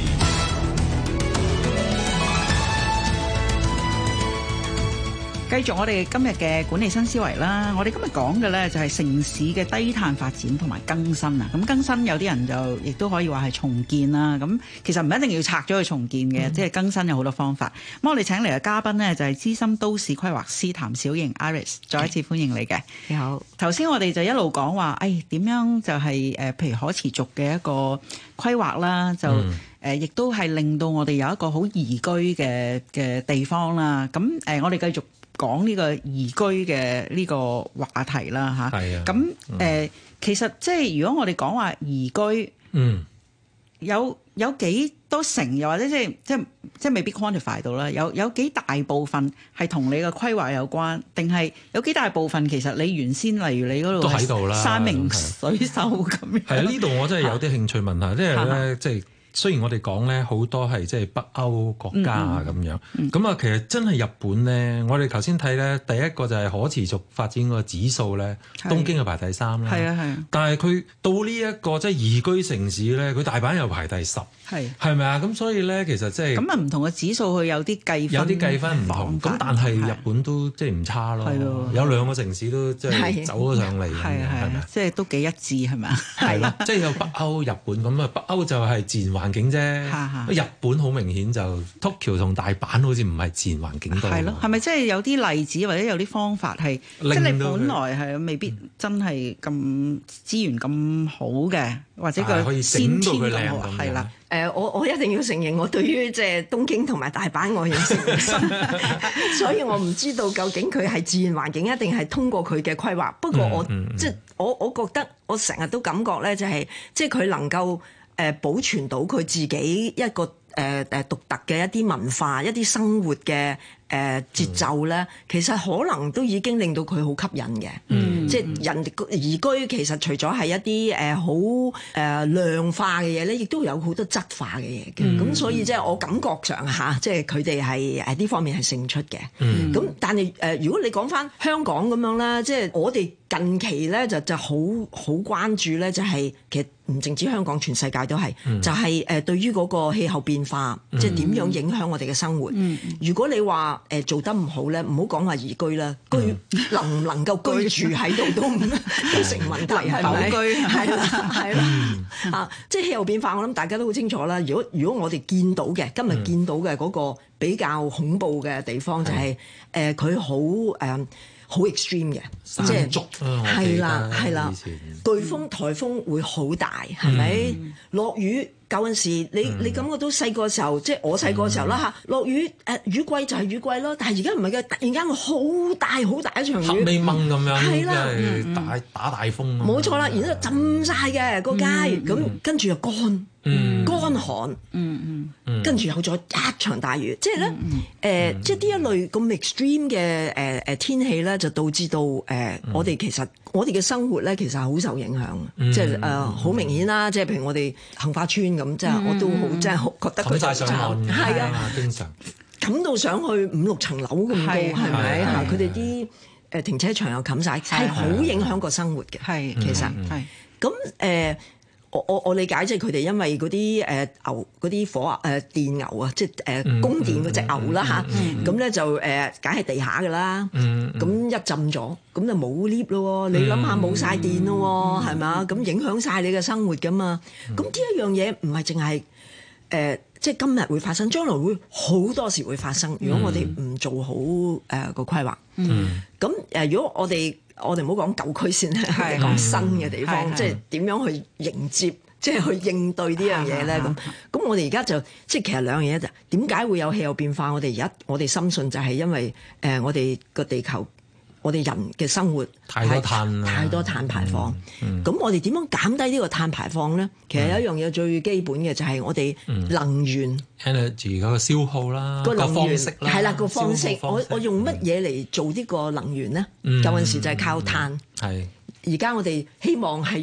繼續我哋今日嘅管理新思維啦，我哋今日講嘅呢就係城市嘅低碳發展同埋更新啊。咁更新有啲人就亦都可以話係重建啦。咁其實唔一定要拆咗去重建嘅，嗯、即係更新有好多方法。咁我哋請嚟嘅嘉賓呢，就係資深都市規劃師譚小瑩 Iris， 再一次歡迎你嘅。 你好。頭先我哋就一路講話，誒點樣就係、是、誒譬如可持續嘅一個規劃啦，就誒亦、嗯呃、都係令到我哋有一個好宜居嘅嘅地方啦。咁誒、呃、我哋繼續講呢個宜居嘅呢個話題啦嚇，咁誒、啊呃、其實即係如果我哋講話宜居，嗯，有有幾多成，又或者即係即係即係未必 quantify 到啦，有有幾大部分係同你嘅規劃有關，定係有幾大部分其實你原先例如你嗰度都喺度啦， 山明水秀咁樣。 係啊，呢度我真係有啲興趣問下，即係咧即係。雖然我哋講咧好多係即係北歐國家啊咁樣，咁啊、嗯嗯、其實真係日本咧，我哋頭先睇咧第一個就係可持續發展個指數咧，是東京係排第三啦，係啊係啊，但係佢到呢、這、一個即係宜居城市咧，佢大阪又排第十，係係咪啊？咁所以咧其實即係咁啊，唔同嘅指數佢有啲計分，有啲計分唔同，咁但係日本都即係唔差咯，有兩個城市都即係走咗上嚟，係係咪？即係都幾一致係咪啊？係咯，即係有北歐、日本咁啊，北歐就係自然環環境啫，日本好明顯就 Tokyo 同大阪好似唔係自然環境多。係咯，係咪即係有啲例子或者有啲方法係，即係你本來係未必真係咁資源咁好嘅，或者佢先天咁好，係啦。 誒，我我一定要承認，我對於即係東京同埋大阪我認識唔深，所以我唔知道究竟佢係自然環境一定係通過佢嘅規劃。不過我、嗯嗯、即係我我覺得我成日都感覺咧，就係即係佢能夠。誒保存到佢自己一個誒誒獨特嘅一啲文化、一啲生活嘅誒節奏咧，其實可能都已經令到佢好吸引嘅。嗯，即係人宜居其實除咗係一啲誒好誒量化嘅嘢咧，亦都有好多質化嘅嘢嘅。咁、嗯、所以即係我感覺上嚇，即係佢哋係誒呢方面係勝出嘅。嗯，咁但係誒、呃，如果你講返香港咁樣啦，即係我哋近期咧就就好好關注咧，就係其實。唔淨止香港，全世界都係，嗯、就係誒對於嗰個氣候變化，嗯、即係點樣影響我哋嘅生活。嗯、如果你話誒做得唔好咧，唔好講話宜居啦，居、嗯、能唔能夠居住喺度都唔都成問題，係咪？居係啦，係啦，啊！即係氣候變化，我諗大家都好清楚啦。如果如果我哋見到嘅今日見到嘅嗰個比較恐怖嘅地方，就係誒佢好誒。好 extreme 嘅，即係係啦係啦，颶風颱風會好大，係咪？落雨舊陣時，你你感覺到細個時候，即係我細個時候啦嚇，落雨誒雨季就係雨季咯，但係而家唔係嘅，突然間會好大好大一場雨，黑咪掹咁樣，係啦，大打大風，冇錯啦，然之後浸晒嘅個街，咁跟住又乾。嗯，乾寒，嗯嗯，跟住有咗一場大雨，即係咧，誒、呃，嗯、即係呢一類咁 extreme 嘅誒誒天氣咧，就導致到誒、呃嗯、我哋其實我哋嘅生活咧，其實係好受影響，嗯、即係誒好明顯啦，即係譬如我哋杏花村咁，即係、嗯、我都好，即係好覺得佢就上岸，係啊，經常冚到上去五六層樓咁高，係咪嚇？佢哋啲誒停車場又冚晒，係好影響個生活嘅，係其實係咁誒。我我我理解即係佢哋因為嗰啲誒牛嗰啲火啊誒、呃、電牛啊，即係誒、呃、供電嗰隻牛啦嚇，咁咧、嗯嗯、就誒梗係地下㗎啦，咁、嗯嗯、一浸咗，咁就冇 lift 咯，你諗下冇晒電咯，係咪啊？咁影響晒你嘅生活㗎嘛，咁呢一樣嘢唔係淨係誒即係今日會發生，將來會好多時會發生。如果我哋唔做好誒、呃、個規劃，咁誒、嗯呃、如果我哋我哋唔好講舊區先啦，係講新嘅地方，嗯、即係點樣去迎接，即係去應對呢樣嘢咧？咁咁我哋而家就即係其實兩樣嘢就點解會有氣候變化？我哋而家我哋深信就係因為誒、呃、我哋個地球。我哋人嘅生活太多碳啦，太多碳排放。咁、嗯嗯、我哋點樣減低呢個碳排放咧？其實有一樣嘢最基本嘅就係我哋能源 energy 嗰個消耗啦，個方式啦， 係啦個方式。我我用乜嘢嚟做呢個能源咧？嗯、有陣時就係靠碳。係而家我哋希望係用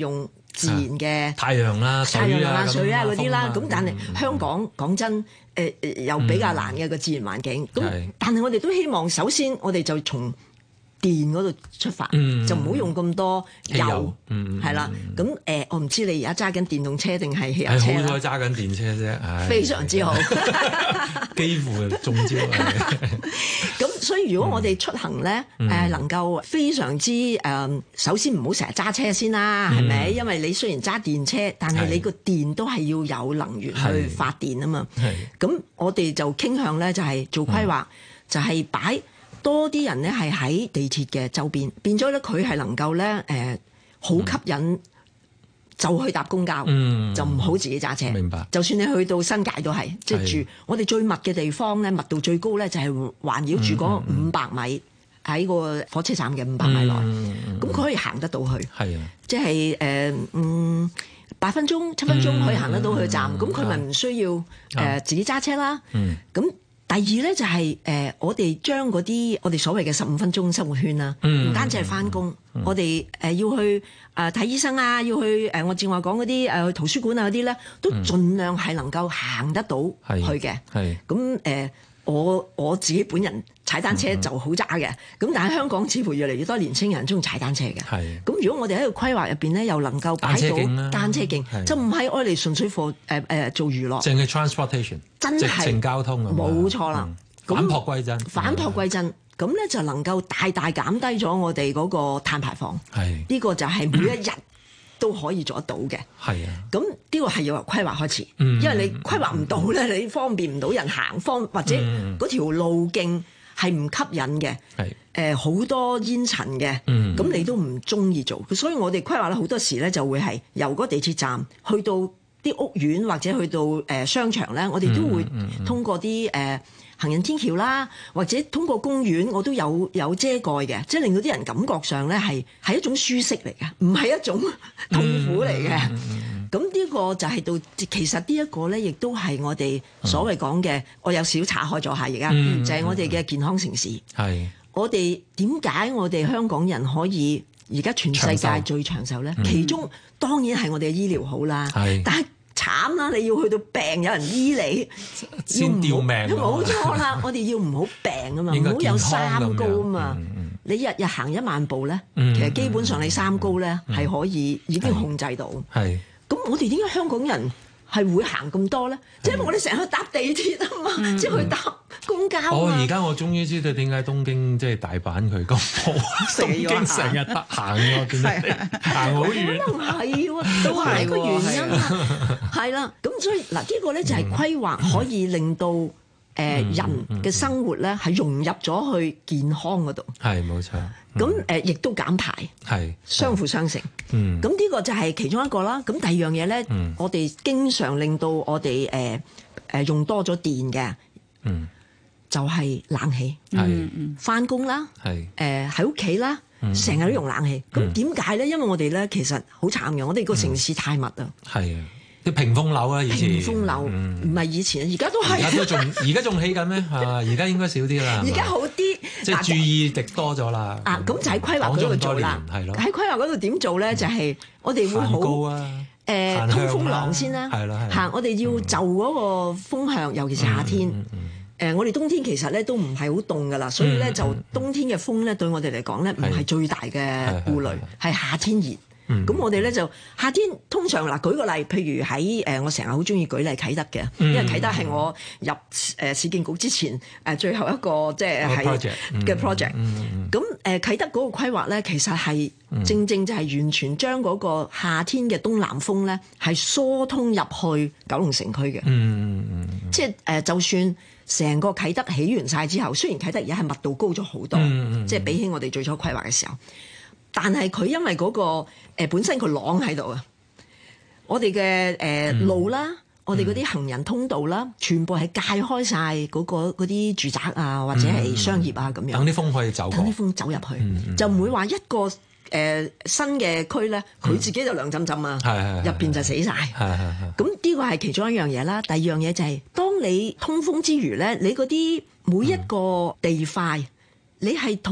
自然嘅太陽啦、 太陽啦、水啊嗰啲啦。咁、 嗯、 但係香港講真，誒、呃、又比較難嘅個、嗯、自然環境。咁但係我哋都希望，首先我哋就從電嗰度出發，嗯、就唔好用咁多油，係啦。咁誒、呃，我唔知你而家揸緊電動車定係汽油車啦？ 好彩揸緊電車啫， 非常之好， 幾乎中招。 咁所以如果我哋出行咧，誒、嗯呃、能夠非常之誒、呃，首先唔好成日揸車先啦，係咪、嗯？因為你雖然揸電車，但係你個電都係要有能源去發電啊嘛。咁我哋就傾向咧，就係做規劃，嗯、就係擺多啲人咧係喺地鐵嘅周邊，變咗咧佢係能夠咧誒好吸引、嗯，就去搭公交，嗯、就唔好自己揸車。明白。就算你去到新界都係，即係住我哋最密嘅地方咧，密度最高咧就係環繞住嗰五百米喺個火車站嘅五百米內，咁、嗯、佢可以行得到去。係啊，即係誒嗯八分鐘、七分鐘可以行得到去站，咁佢咪唔需要誒、呃、自己揸車啦。咁、嗯第二咧就係、是、誒、呃，我哋將嗰啲我哋所謂嘅十五分鐘生活圈啦，唔、嗯、單止係返工，嗯、我哋誒、呃、要去誒睇、呃、醫生啊，要去誒、呃、我正話講嗰啲誒去圖書館啊嗰啲咧，都盡量係能夠行得到去嘅。係咁誒，我我自己本人踩單車就好渣嘅，咁、嗯、但係香港似乎越嚟越多年青人中意踩單車嘅。係咁，如果我哋喺個規劃入邊咧，又能夠擺到單車徑，就唔係愛嚟純粹貨誒誒做娛樂， 淨係 transportation。真係直程交通啊！ 冇錯啦， 嗯、反璞歸真， 反璞歸真，咁咧就能夠大大減低咗我哋嗰個碳排放。係呢個就係每一日都可以做得到嘅。係啊，咁呢個係要由規劃開始，嗯、因為你規劃唔到咧，你方便唔到人行，方或者嗰條路徑係唔吸引嘅。係誒好多煙塵嘅，咁、嗯、你都唔中意做。所以我哋規劃咧好多時咧就會係由嗰地鐵站去到啲屋苑或者去到誒、呃、商場咧，我哋都會通過啲誒、呃、行人天橋啦，或者通過公園，我都有有遮蓋嘅，即係令到啲人感覺上咧係係一種舒適嚟嘅，唔係一種痛苦嚟嘅。咁、嗯、呢、嗯、個就係到其實呢一個咧，亦都係我哋所謂講嘅、嗯，我有少少岔開咗下而家，就係、是、我哋嘅健康城市。係、嗯、我哋點解我哋香港人可以而家全世界最長壽咧？其中當然係我哋嘅醫療好啦，但係慘啦！你要去到病有人醫你， 先吊命。 冇錯啦，我哋要唔好病啊嘛，唔好有三高啊嘛。嗯嗯、你日日行一萬步咧、嗯，其實基本上你三高咧係、嗯、可以已經控制到。係咁，我哋點解香港人係會行咁多咧？即係因為我哋成日去搭地鐵啊嘛，嗯、即係去搭公交。哦，而家我終於知道點解東京即係大阪佢咁好，東京成日得行喎，行好遠。 可能係喎，都係一個原因啊。係啦，咁所以嗱，呢個咧就係規劃可以令到誒人嘅生活咧係融入咗去健康嗰度。係冇錯。咁誒，亦都減排，係相輔相成。嗯，咁呢個就係其中一個啦。咁第二樣嘢咧，我哋經常令到我哋誒誒用多咗電嘅，嗯，就係冷氣。係，返工啦，係誒喺屋企啦，成日都用冷氣。咁點解咧？因為我哋咧其實好慘嘅，我哋個城市太密啊。係啊。 啲屏風樓啊，以前屏風樓唔係以前，而家都係。 而家都仲，而家仲起緊咩？啊，而家應該少啲啦。 而家好啲， 即係注意力多咗啦。 啊，咁就喺規劃嗰度做啦。係咯。喺規劃嗰度點做咧？就係我哋會好誒通風廊先啦。係啦，係。我哋要就嗰個風向，尤其是夏天。誒，我哋冬天其實咧都唔係好凍噶啦，所以咧就冬天嘅風咧對我哋嚟講咧唔係最大嘅顧慮，係夏天熱。咁、嗯、我哋咧就夏天通常嗱，舉個例，譬如喺誒、呃，我成日好中意舉例啟德嘅、嗯，因為啟德係我入誒、呃、市建局之前誒、呃、最後一個即係係嘅 project。咁誒啟德嗰個規劃咧，其實係、嗯、正正就係完全將嗰個夏天嘅東南風咧係疏通入去九龍城區嘅。嗯嗯嗯、即係誒、呃，就算成個啟德起完晒之後，雖然啟德而家係密度高咗好多，嗯嗯、即係比起我哋最初規劃嘅時候。但係佢因為嗰、那個、呃、本身個廊喺度啊，我哋嘅誒路啦，嗯、我哋嗰啲行人通道啦，嗯、全部係界開晒嗰、那個啲住宅啊，或者係商業啊咁、嗯、樣。等啲風可以走過，等啲風走入去，嗯嗯、就唔會話一個誒、呃、新嘅區咧，佢自己就涼浸浸啊，入、嗯、邊就死晒。咁呢個係其中一樣嘢啦。第二樣嘢就係、是，當你通風之餘咧，你嗰啲每一個地塊，嗯、你係同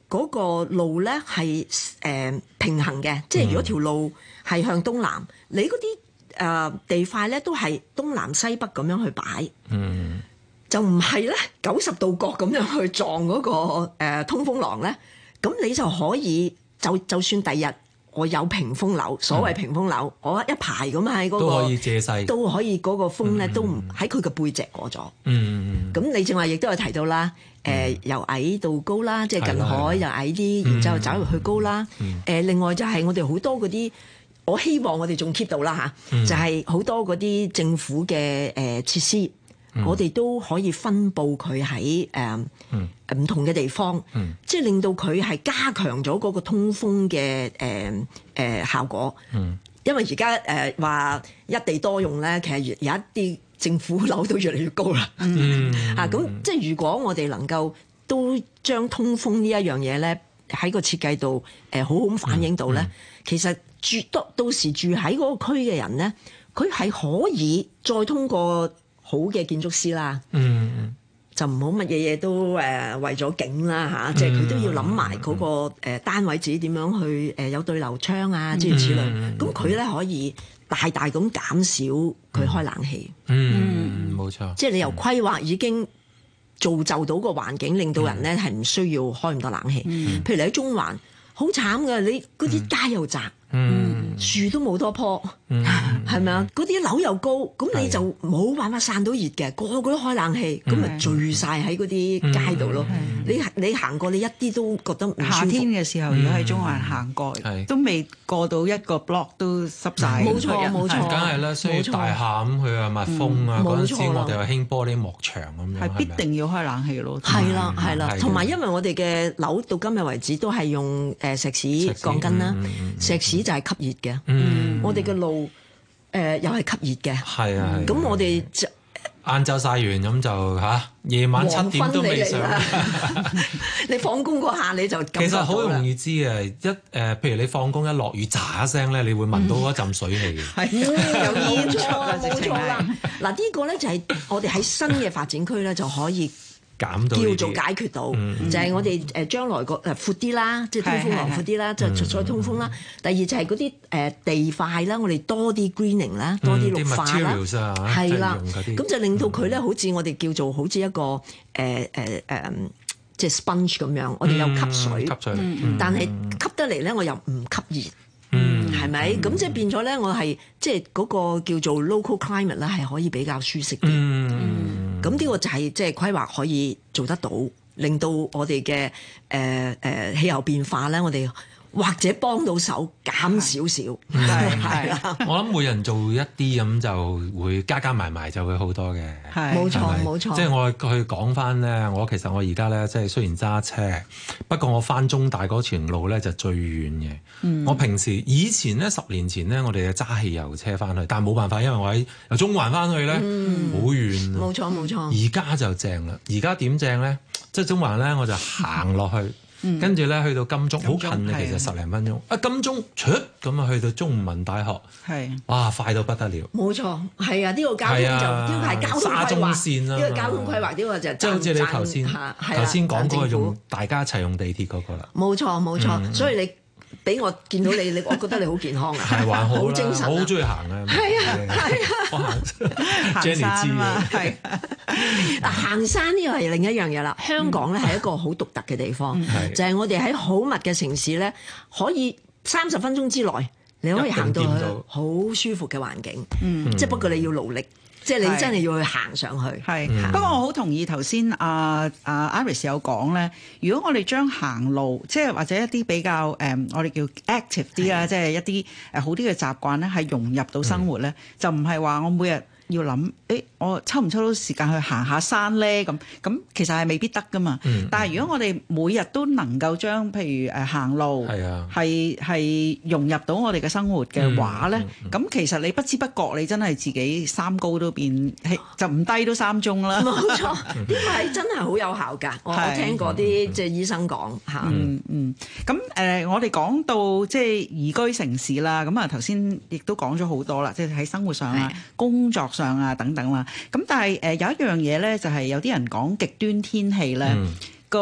嗰個路咧係誒平衡嘅，即係如果條路係向東南，你嗰啲誒地塊咧都係東南西北咁樣去擺，嗯，就唔係咧九十度角咁樣去撞嗰、嗰個、呃、通風廊咧，咁你就可以就就算第日我有屏風樓，所謂屏風樓，嗯、我一排咁喺嗰個都可以借勢， 都可以嗰個風咧、嗯、都唔喺佢嘅背脊過咗，嗯，咁你正話亦都有提到啦。誒、呃、由矮到高啦，即係近海又矮啲，然之後走入去高啦。誒、嗯呃、另外就係我哋好多嗰啲，我希望我哋仲 keep 到啦嚇，嗯、就係好多嗰啲政府嘅誒、呃、設施，嗯、我哋都可以分佈佢喺誒唔同嘅地方，嗯、即係令到佢係加強咗嗰個通風嘅誒誒效果。嗯、因為而家誒話一地多用咧，其實有一啲政府樓都越嚟越高啦，嗯、啊咁即係如果我哋能夠都將通風呢一樣嘢咧喺個設計度誒好好咁反映到咧，嗯嗯、其實住到到時住喺嗰個區嘅人咧，佢係可以再通過好嘅建築師啦，嗯、就唔好乜嘢嘢都誒、呃、為咗景啦嚇，啊嗯、即係佢都要諗埋嗰個誒單位自己點樣去誒、呃、有對流窗啊諸如此類，咁佢咧可以大大咁減少佢開冷氣， 嗯，冇錯。 即係你由規劃已經造就到個環境，令到人咧係唔需要開咁多冷氣。嗯、譬如你喺中環，好慘㗎，你嗰啲街又窄，嗯、樹都冇多棵，係咪啊？嗰啲樓又高，咁你就冇辦法散到熱嘅，個個都開冷氣，咁咪聚晒喺嗰啲街度咯。你你行過，你一啲都覺得唔舒服。 夏天嘅時候，如果喺中環行過，都未過到一個 block 都濕晒。 冇錯冇錯， 梗係啦，需要大廈咁去啊，密封啊，嗰陣時我哋又興玻璃幕牆咁樣， 係必定要開冷氣咯。 係啦係啦，同埋因為我哋嘅樓到今日為止都係用誒石屎鋼筋啦，石屎就係吸熱嘅。我哋嘅路誒又係吸熱嘅。係啊，咁我哋就晏晝曬完咁就嚇，夜晚七點都未上。 你放工嗰下你就其實好容易知嘅，一誒、呃，譬如你放工一落雨，喳一聲咧，你會聞到嗰陣水氣。 係、嗯，有煙出啊，冇錯啦。嗱，呢個咧就係我哋喺新嘅發展區咧就可以減到叫做解決到，嗯、就係我哋誒將來個誒闊啲啦，即係通風廊闊啲啦，就再通風啦。第二就係嗰啲誒地塊啦，我哋多啲 greening 啦，多啲綠化啦，係啦、嗯，咁就令到佢咧好似我哋叫做好似一個誒誒誒，即係 sponge 咁樣，我哋又吸水，吸水，但係吸得嚟咧，我又唔吸熱。嗯，係咪？咁即係變咗咧，我係即係嗰個叫做 local climate 咧，係可以比較舒適啲。嗯，咁呢個就係即係規劃可以做得到，令到我哋嘅誒誒氣候變化咧，我哋或者幫到手減少少。係係啦， 我諗每人做一啲咁就會加加埋埋就會好多嘅。 係冇錯冇錯。 即係我去講翻咧，我其實我而家咧即係雖然揸車，不過我翻中大嗰條路咧就最遠嘅。嗯、我平時以前咧十年前咧，我哋係揸汽油車翻去，但係冇辦法，因為我喺由中環翻去咧好、嗯、遠。 冇錯冇錯。 而家就正啦，而家點正咧？即係中環咧，我就行落去。跟住咧去到金鐘，好近嘅，其實十零分鐘。啊金鐘出咁啊，去到中文大學，係哇快到不得了。 冇錯，係啊！呢個交通就呢個係交通規劃，呢個交通規劃呢個就即係好似你頭先頭先講嗰個用大家一齊用地鐵嗰個啦。 冇錯冇錯，所以你俾我見到你，你我覺得你好健康啊， 係還好啦， 好精神， 我好中意行啊。 係啊係啊， 我行 Jenny 知啊，係嗱行山呢個係另一樣嘢啦。香港咧係一個好獨特嘅地方，就係我哋喺好密嘅城市咧，可以三十分鐘之內你可以行到去好舒服嘅環境，即係不過你要努力。即係你真係要去行上去， 係。不過我好同意頭先阿阿 Iris 有講咧，如果我哋將行路，即係或者一啲比較誒、嗯，我哋叫 active 啲啊，即係一啲誒好啲嘅習慣咧，係融入到生活咧，嗯、就唔係話我每日要諗，誒我抽唔抽到時間去行下山咧？咁咁其實係未必得噶嘛。嗯、但係如果我哋每日都能夠將譬如誒行路係係、啊、融入到我哋嘅生活嘅話咧，咁、嗯嗯、其實你不知不覺你真係自己三高都變，就唔低都三中啦。 冇錯，呢個係真係好有效㗎。我我聽過啲即係醫生講嚇。 嗯嗯。咁誒、呃，我哋講到即係宜居城市啦。咁啊頭先亦都講咗好多啦，即係喺生活上啊、工作上啊等等啦。咁但係誒有一樣嘢咧，就係有啲人講極端天氣咧個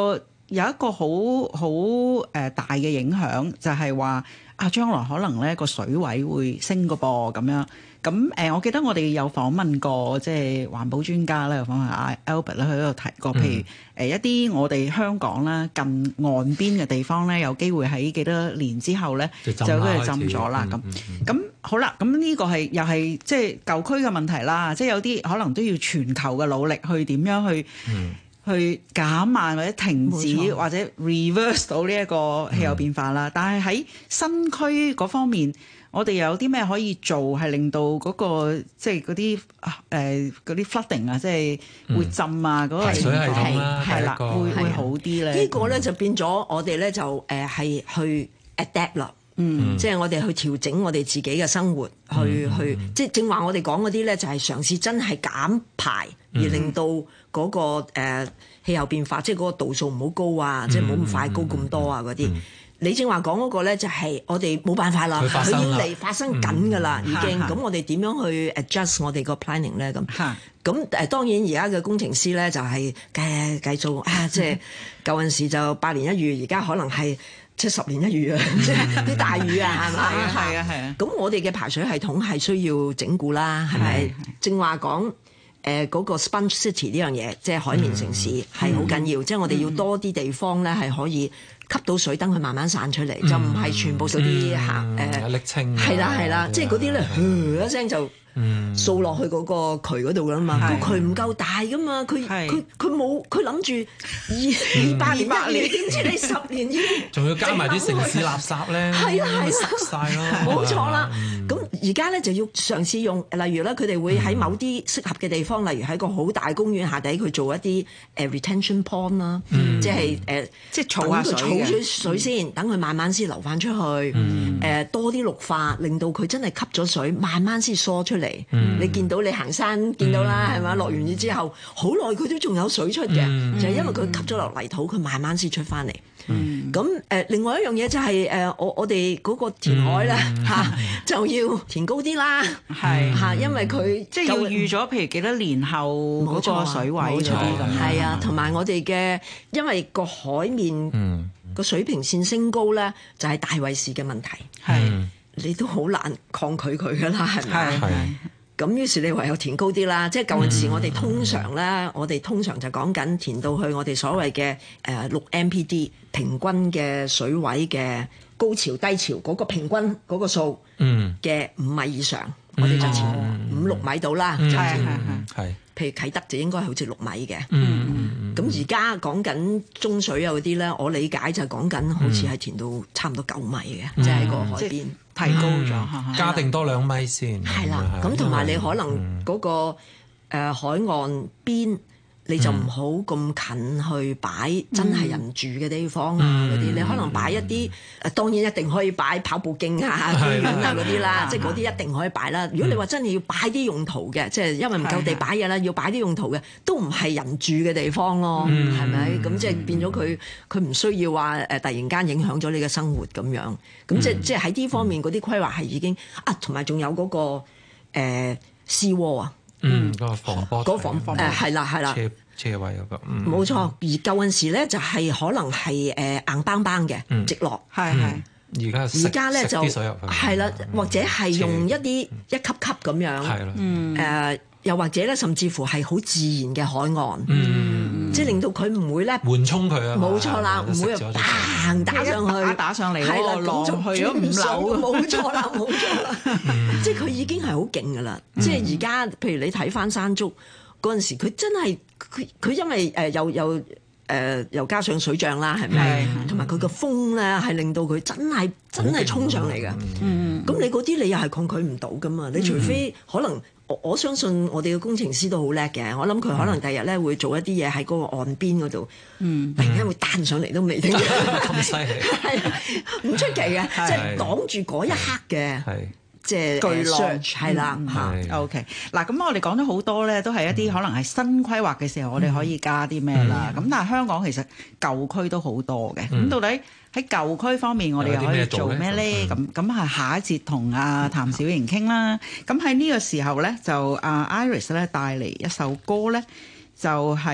有一個好好誒大嘅影響，就係話啊，將來可能咧個水位會升個噃咁樣。咁誒、呃，我記得我哋有訪問過即係環保專家咧，訪問阿 Albert 咧，佢喺度提過，譬如誒、呃、一啲我哋香港啦近岸邊嘅地方咧，有機會喺幾多年之後咧就都係浸咗啦。咁咁好啦，咁呢個係又係即係舊區嘅問題啦。即係有啲可能都要全球嘅努力去點樣去。嗯去減慢或者停止或者 reverse 到呢一個氣候變化啦，嗯、但係喺新區嗰方面，我哋有啲咩可以做係令到嗰、嗰個即係嗰啲誒嗰啲 flooding 啊，即係會浸啊嗰、嗯、個排水系統啦， 係啦，會會好啲咧。 呢個咧就變咗我哋咧就誒係去 adapt 啦。嗯，即係我哋去調整我哋自己嘅生活，嗯、去去即係正話我哋講嗰啲咧，就係嘗試真係減排，嗯、而令到嗰、嗰個誒、呃、氣候變化，即係嗰個度數唔好高啊，嗯、即係唔好咁快高咁多啊嗰啲。嗯、你正話講嗰個咧，就係我哋冇辦法啦，佢要嚟發生緊㗎啦，嗯、已經。咁我哋點樣去 adjust 我哋個 planning 咧？咁咁誒當然而家嘅工程師咧就係計計數啊，即係舊陣時就百年一遇，而家可能係。即係十年一遇啊！即係啲大雨啊，係咪？ 係啊係啊。 咁我哋嘅排水系統係需要整固啦，係咪？正話講誒嗰個 sponge city 呢樣嘢，即係海綿城市係好緊要。即係我哋要多啲地方咧係可以吸到水，等佢慢慢散出嚟，就唔係全部嗰啲行誒瀝青。 係啦係啦，即係嗰啲咧，一聲就。掃落去嗰個渠嗰度㗎嘛，個渠唔夠大㗎嘛，佢佢佢冇，佢諗住二二百年一遇，點知你十年已經仲要加埋啲城市垃圾咧， 係啦係啦， 塞曬咯， 冇錯啦。咁而家咧就要嘗試用，例如咧佢哋會喺某啲適合嘅地方，例如喺個好大公園下底，佢做一啲誒 retention pond 啦，即係誒即係儲下水儲咗水先，等佢慢慢先流翻出去，誒多啲綠化，令到佢真係吸咗水，慢慢先疏出嚟。嗯、你見到你行山見到啦，係咪、嗯？落完雨之後，好耐佢都仲有水出嘅，嗯、就係因為佢吸咗落泥土，佢慢慢先出翻嚟。咁誒、嗯，另外一樣嘢就係、是、誒，我我哋嗰個填海咧嚇、嗯啊，就要填高啲啦，係嚇、嗯，因為佢即係要預咗，譬如幾多年後嗰個水位嗰啲咁。係啊， 同埋我哋嘅，因為個海面個水平線升高咧，就係大衛士嘅問題。係、嗯。你都好難抗拒佢噶啦，係咪？係。咁於是你唯有填高啲啦，即係舊陣時我哋通常咧，嗯、我哋通常就講緊填到去我哋所謂嘅誒六 M P D 平均嘅水位嘅高潮低潮嗰個平均嗰個數嘅五米以上，嗯、我哋就填五六米到啦，就填係。譬如啟德就應該係好似六米嘅，咁而家講緊中水啊嗰啲咧，我理解就係講緊好似係填到差唔多九米嘅，即係喺個海邊提高咗， 加定多兩米先。 係啦，咁同埋你可能嗰個誒海岸邊，你就唔好咁近去擺真係人住嘅地方啊嗰啲，你可能擺一啲誒，當然一定可以擺跑步徑啊、公園啊嗰啲啦，即係嗰啲一定可以擺啦。如果你話真係要擺啲用途嘅，即係因為唔夠地擺嘢啦，要擺啲用途嘅，都唔係人住嘅地方咯，係咪？咁即係變咗佢佢唔需要話誒突然間影響咗你嘅生活咁樣。咁即係即係喺呢方面嗰啲規劃係已經啊，同埋仲有嗰個誒 sea wall 啊。 嗯，嗰個防波嗰防誒係啦係啦， 車車位嗰個， 冇錯。而舊陣時咧就係可能係誒硬邦邦嘅直落，係係。 而家而家咧就係啦，或者係用一啲一級級咁樣，係啦，誒又或者咧甚至乎係好自然嘅海岸，嗯，即係令到佢唔會咧緩衝佢啊， 冇錯啦，唔會嘭打上去， 打上嚟，係啦，咁就去咗五樓， 冇錯啦，冇錯啦，即係佢已經係好勁噶啦，即係而家譬如你睇翻山竹嗰陣時，佢真係佢佢因為誒又又誒又加上水漲啦，係咪？同埋佢個風咧係令到佢真係真係衝上嚟嘅，咁你嗰啲你又係抗拒唔到噶嘛？你除非可能。我我相信我哋嘅工程師都好叻嘅，我諗佢可能第日咧會做一啲嘢喺嗰個岸邊嗰度，嗯、突然間會彈上嚟都未定， 咁犀利， 係唔出奇嘅，即係擋住嗰一刻嘅，即係巨浪，係啦嚇。 OK，嗱咁我哋講咗好多咧，都係一啲可能係新規劃嘅時候，我哋可以加啲咩啦。咁、嗯、但係香港其實舊區都好多嘅，咁、嗯、到底喺舊區方面，我哋又可以做咩咧？咁咁係下一節同阿譚小瑩傾啦。咁喺呢個時候咧，就阿 Iris 咧帶嚟一首歌咧，就係、是、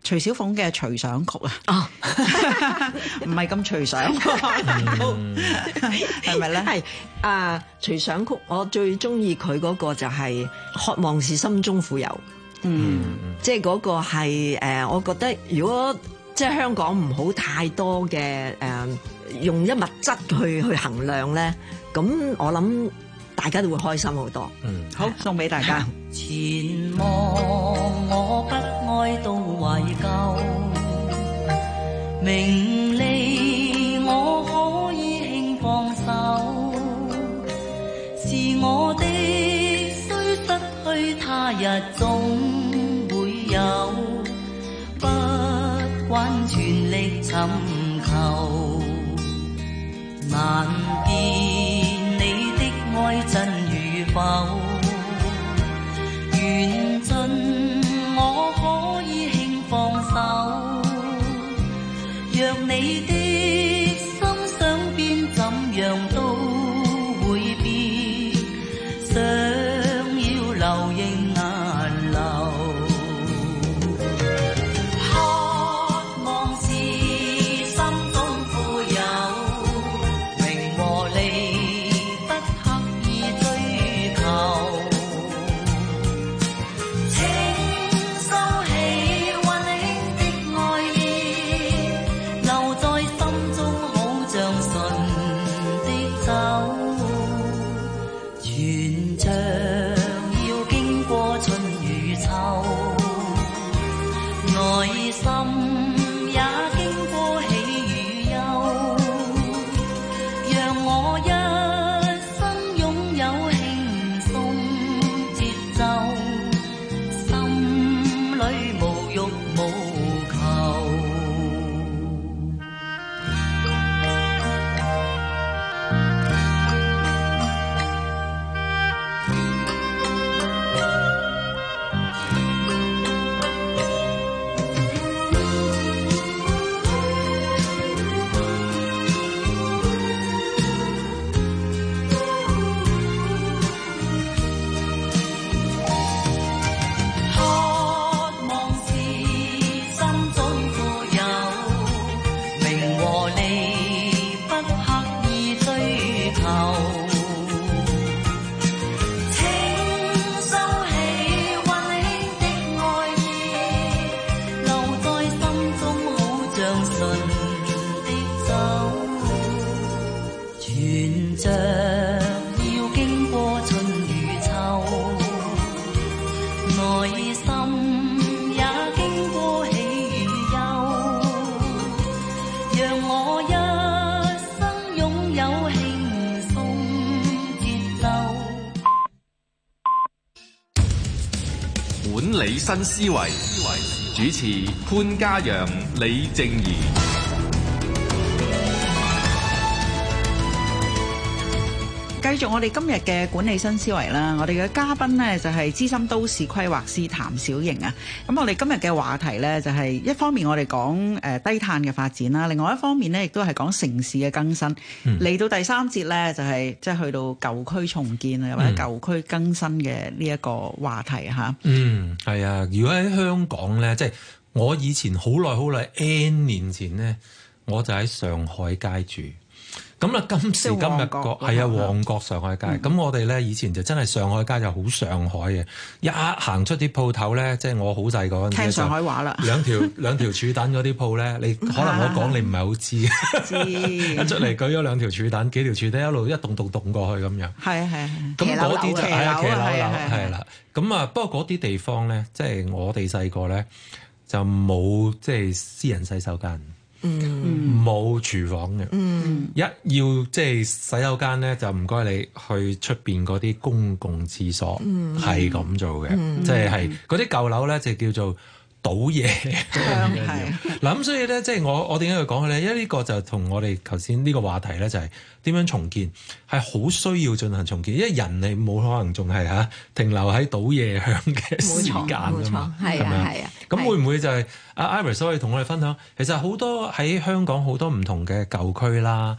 徐小鳳嘅《隨想曲》啊，唔係咁隨想，係咪咧？ 係啊，《隨想曲》我最中意佢嗰個就係渴望是心中富有，嗯，即係嗰個係誒，我覺得如果即係香港唔好太多嘅誒，用一物質去去衡量咧，咁我諗大家都會開心好多。 嗯，好，送俾大家。 前望我不哀悼懷舊，名利我可以輕放手，是我的雖失去他日總會有，不慣全力尋求，難辨你的愛真與否，緣盡我可以輕放手，若你的心想變怎樣都會變，想要流仍難流，渴望是心中富有，名和利不刻意追求， 管理新思維，主持潘嘉陽、李靜宜。 繼續我哋今日嘅管理新思維啦，我哋嘅嘉賓呢，就係資深都市規劃師譚小瑩啊。咁我哋今日嘅話題呢，就係一方面我哋講誒低碳嘅發展啦，另外一方面呢，亦都係講城市嘅更新。嚟、嗯、到第三節呢，就係即係去到舊區重建啊，或者舊區更新嘅呢一個話題嚇。 嗯，係啊。如果喺香港呢，即係我以前好耐好耐 N 年前呢，我就喺上海街住。咁啊，今時今日個係啊，旺角上海街。咁、嗯、我哋咧以前就真係上海街就好上海嘅，一行出啲鋪頭咧，即係我好細個聽上海話啦， 兩條兩條柱躉嗰啲鋪咧，你可能我講你唔係好知，知一出嚟舉咗兩條柱躉，幾條柱躉一路一棟棟棟過去咁樣。係啊係啊，咁嗰啲就係啊騎樓樓係啦。咁啊，不過嗰啲地方咧，即係我哋細個咧就冇即係私人洗手間。嗯，冇廚房嘅，嗯，一要即係洗手間咧，就唔該你去出邊嗰啲公共廁所，係咁、嗯、做嘅，嗯、即係係嗰啲舊樓咧就叫做倒夜香係。嗱咁所以咧，即係我我點解要講佢咧？因為呢個就同我哋頭先呢個話題咧，就係點樣重建，係好需要進行重建，因為人你冇可能仲係嚇停留喺倒夜香嘅時間㗎嘛，係啊係啊。咁會唔會就係阿 Iris 可以同我哋分享？其實好多喺香港好多唔同嘅舊區啦，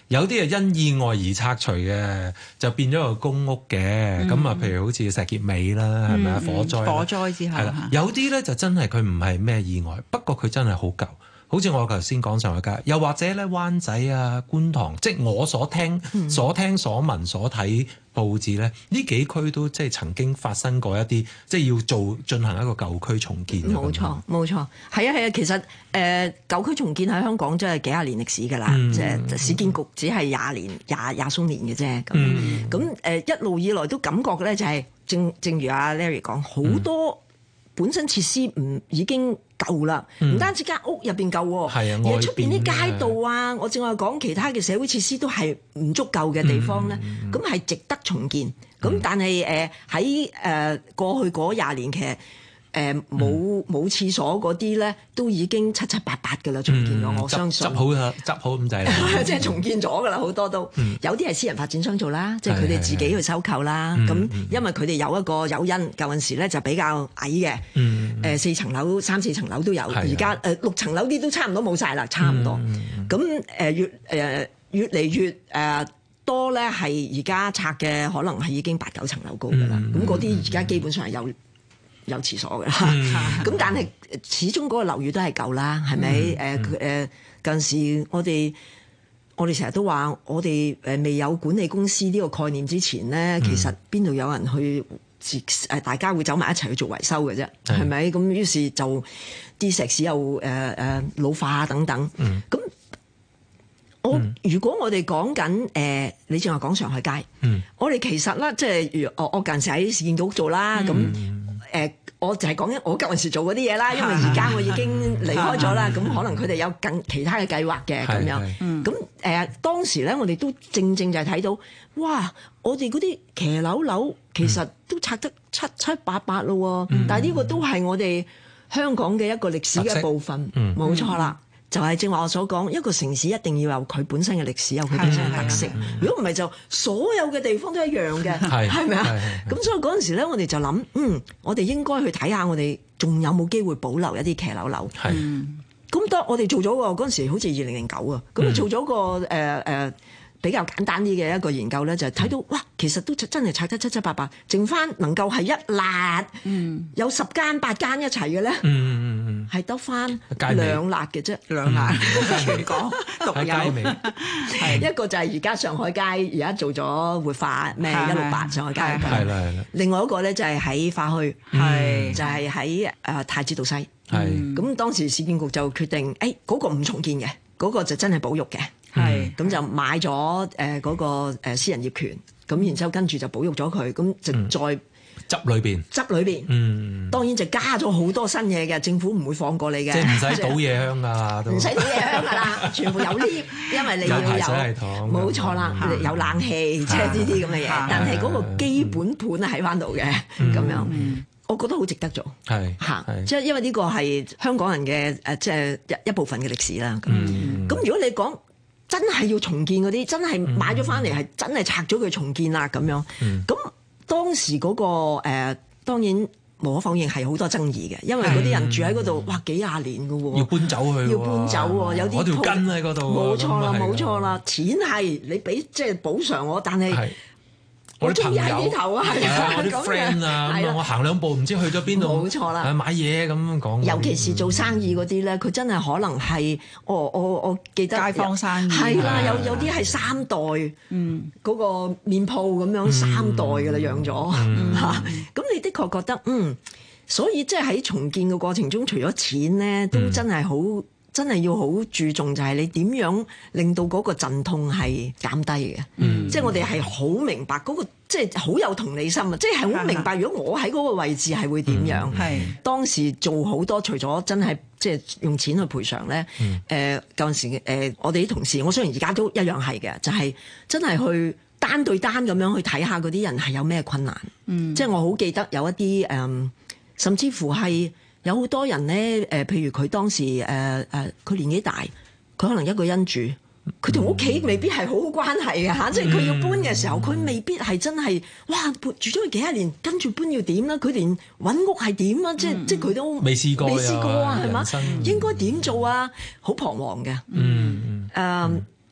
有啲係因意外而拆除嘅，就變咗個公屋嘅。咁啊、嗯，譬如好似石硤尾啦，係咪啊？火災， 火災之後， 係啦。有啲咧就真係佢唔係咩意外，不過佢真係好舊。好似我頭先講上海街，又或者咧灣仔啊、觀塘，即係我所聽、嗯、所聽、所聞、所睇報紙咧，呢幾區都即係曾經發生過一啲，即係要做進行一個舊區重建。 冇錯，冇錯，係啊，係啊。其實誒、呃、舊區重建喺香港真係幾廿年歷史㗎啦，嗯、即係市建局只係廿年、廿廿鬆年嘅啫。咁咁誒一路以來都感覺咧，就係正正如阿 Larry 講，好多本身設施唔已經舊啦，唔、嗯、單止間屋入邊舊喎，而出邊啲街道啊，我正話講其他嘅社會設施都係唔足夠嘅地方咧，咁係、嗯、值得重建。咁、嗯、但係誒喺誒過去嗰廿年其實誒冇冇廁所嗰啲咧，都已經七七八八㗎啦，重建咗，嗯、我相信。執好啦，執好咁滯啦，即係重建咗㗎啦，好多都。嗯、有啲係私人發展商做啦，即係佢哋自己去收購啦。咁、嗯、因為佢哋有一個誘因，舊陣時咧就比較矮嘅，誒、嗯呃、四層樓、三四層樓都有，而家誒六層樓啲都差唔多冇晒啦，差唔多。咁誒、嗯呃、越誒、呃、越嚟越誒。呃多咧係而家拆嘅，可能係已經八九層樓高㗎啦。咁嗰啲而家基本上係有有廁所㗎啦。咁、嗯、但係始終嗰個樓宇都係舊啦，係咪？誒誒近時我哋我哋成日都話，我哋誒未有管理公司呢個概念之前咧，其實邊度有人去誒大家會走埋一齊去做維修嘅啫，係咪？咁於是就啲石屎又誒誒、呃、老化等等。咁、嗯我如果我哋講緊誒，你正話講上海街，嗯、我哋其實咧，即係我我近時喺市建局做啦，咁誒、嗯呃，我就係講緊我舊陣時做嗰啲嘢啦，因為而家我已經離開咗啦，咁可能佢哋有更其他嘅計劃嘅咁樣，咁誒、呃、當時咧，我哋都正正就係睇到，哇！我哋嗰啲騎樓樓其實都拆得七七八八咯，嗯、但係呢個都係我哋香港嘅一個歷史嘅部分，冇、嗯、錯啦。就係正話我所講，一個城市一定要有佢本身嘅歷史，有佢本身嘅特色。如果唔係，就所有嘅地方都一樣嘅，係咪啊？咁所以嗰陣時咧，我哋就諗，嗯，我哋應該去睇下，我哋仲有冇機會保留一啲騎樓樓。咁、嗯、當我哋做咗個嗰陣時，好似二零零九啊，咁做咗個誒誒。呃呃比較簡單啲嘅一個研究咧，就係睇到哇，其實都真係拆得七七八八，剩翻能夠係一辣，嗯、有十間八間一齊嘅咧，係得翻兩辣嘅啫，兩辣全港獨有。一個就係而家上海街，而家做咗活化咩一六八上海街，係啦係啦。另外一個咧就係喺花墟，係就係喺誒太子道西，係咁當時市建局就決定，誒嗰個唔重建嘅，嗰個就真係保育嘅。係咁、嗯、就買咗誒嗰個誒私人業權，咁然之後跟住就保育咗佢，咁就再執裏邊執裏邊，嗯，當然就加咗好多新嘢嘅，政府唔會放過你嘅， 即係唔使倒嘢香㗎啦， 唔使倒嘢香㗎啦，全部有 lift，因為你要有冇錯啦，嗯、有冷氣，即係呢啲咁嘅嘢，嗯、但係嗰個基本盤喺翻度嘅，咁、嗯、樣。嗯我覺得好值得做，係嚇，即係因為呢個係香港人嘅誒，即係一一部分嘅歷史啦。咁咁、嗯、如果你講真係要重建嗰啲，真係買咗翻嚟係真係拆咗佢重建啦咁樣。咁、嗯、當時嗰、嗰個誒、呃，當然無可否認係好多爭議嘅，因為嗰啲人住喺嗰度，哇幾廿年㗎喎， 要搬走去， 要搬走喎，有啲條根喺嗰度， 冇錯啦，冇錯啦，錢係你俾即係補償我，但係。 我啲朋友啊， 我啲 friend 啊，咁我行兩步唔知去咗邊度， 冇錯啦， 買嘢咁講。 尤其是做生意嗰啲咧，佢真係可能係，我我我記得街坊生意係啦，有有啲係三代，嗯，嗰個麵鋪咁樣三代㗎啦，養咗嚇。咁你的確覺得嗯，所以即係喺重建嘅過程中，除咗錢咧，都真係好。真係要好注重，就係你點樣令到嗰個陣痛係減低嘅。嗯、即係我哋係好明白嗰、嗰個，即係好有同理心啊！即係好明白，如果我喺嗰個位置係會點樣？係、嗯、當時做好多，除咗真係即係用錢去賠償咧。誒舊陣時誒、呃，我哋啲同事，我雖然而家都一樣係嘅，就係、係、真係去單對單咁樣去睇下嗰啲人係有咩困難。嗯、即係我好記得有一啲誒、呃，甚至乎係。有好多人咧，誒、呃，譬如佢當時誒誒，佢、呃、年紀大，佢可能一個人住，佢同屋企未必係好好關係嘅嚇，嗯、即係佢要搬嘅時候，佢未必係真係，哇，住咗佢幾十年，跟住搬要點啦？佢連揾屋係點啊？即係即係佢都未試過， 未試過啊，係嘛？應該點做啊？好彷徨嘅。嗯誒，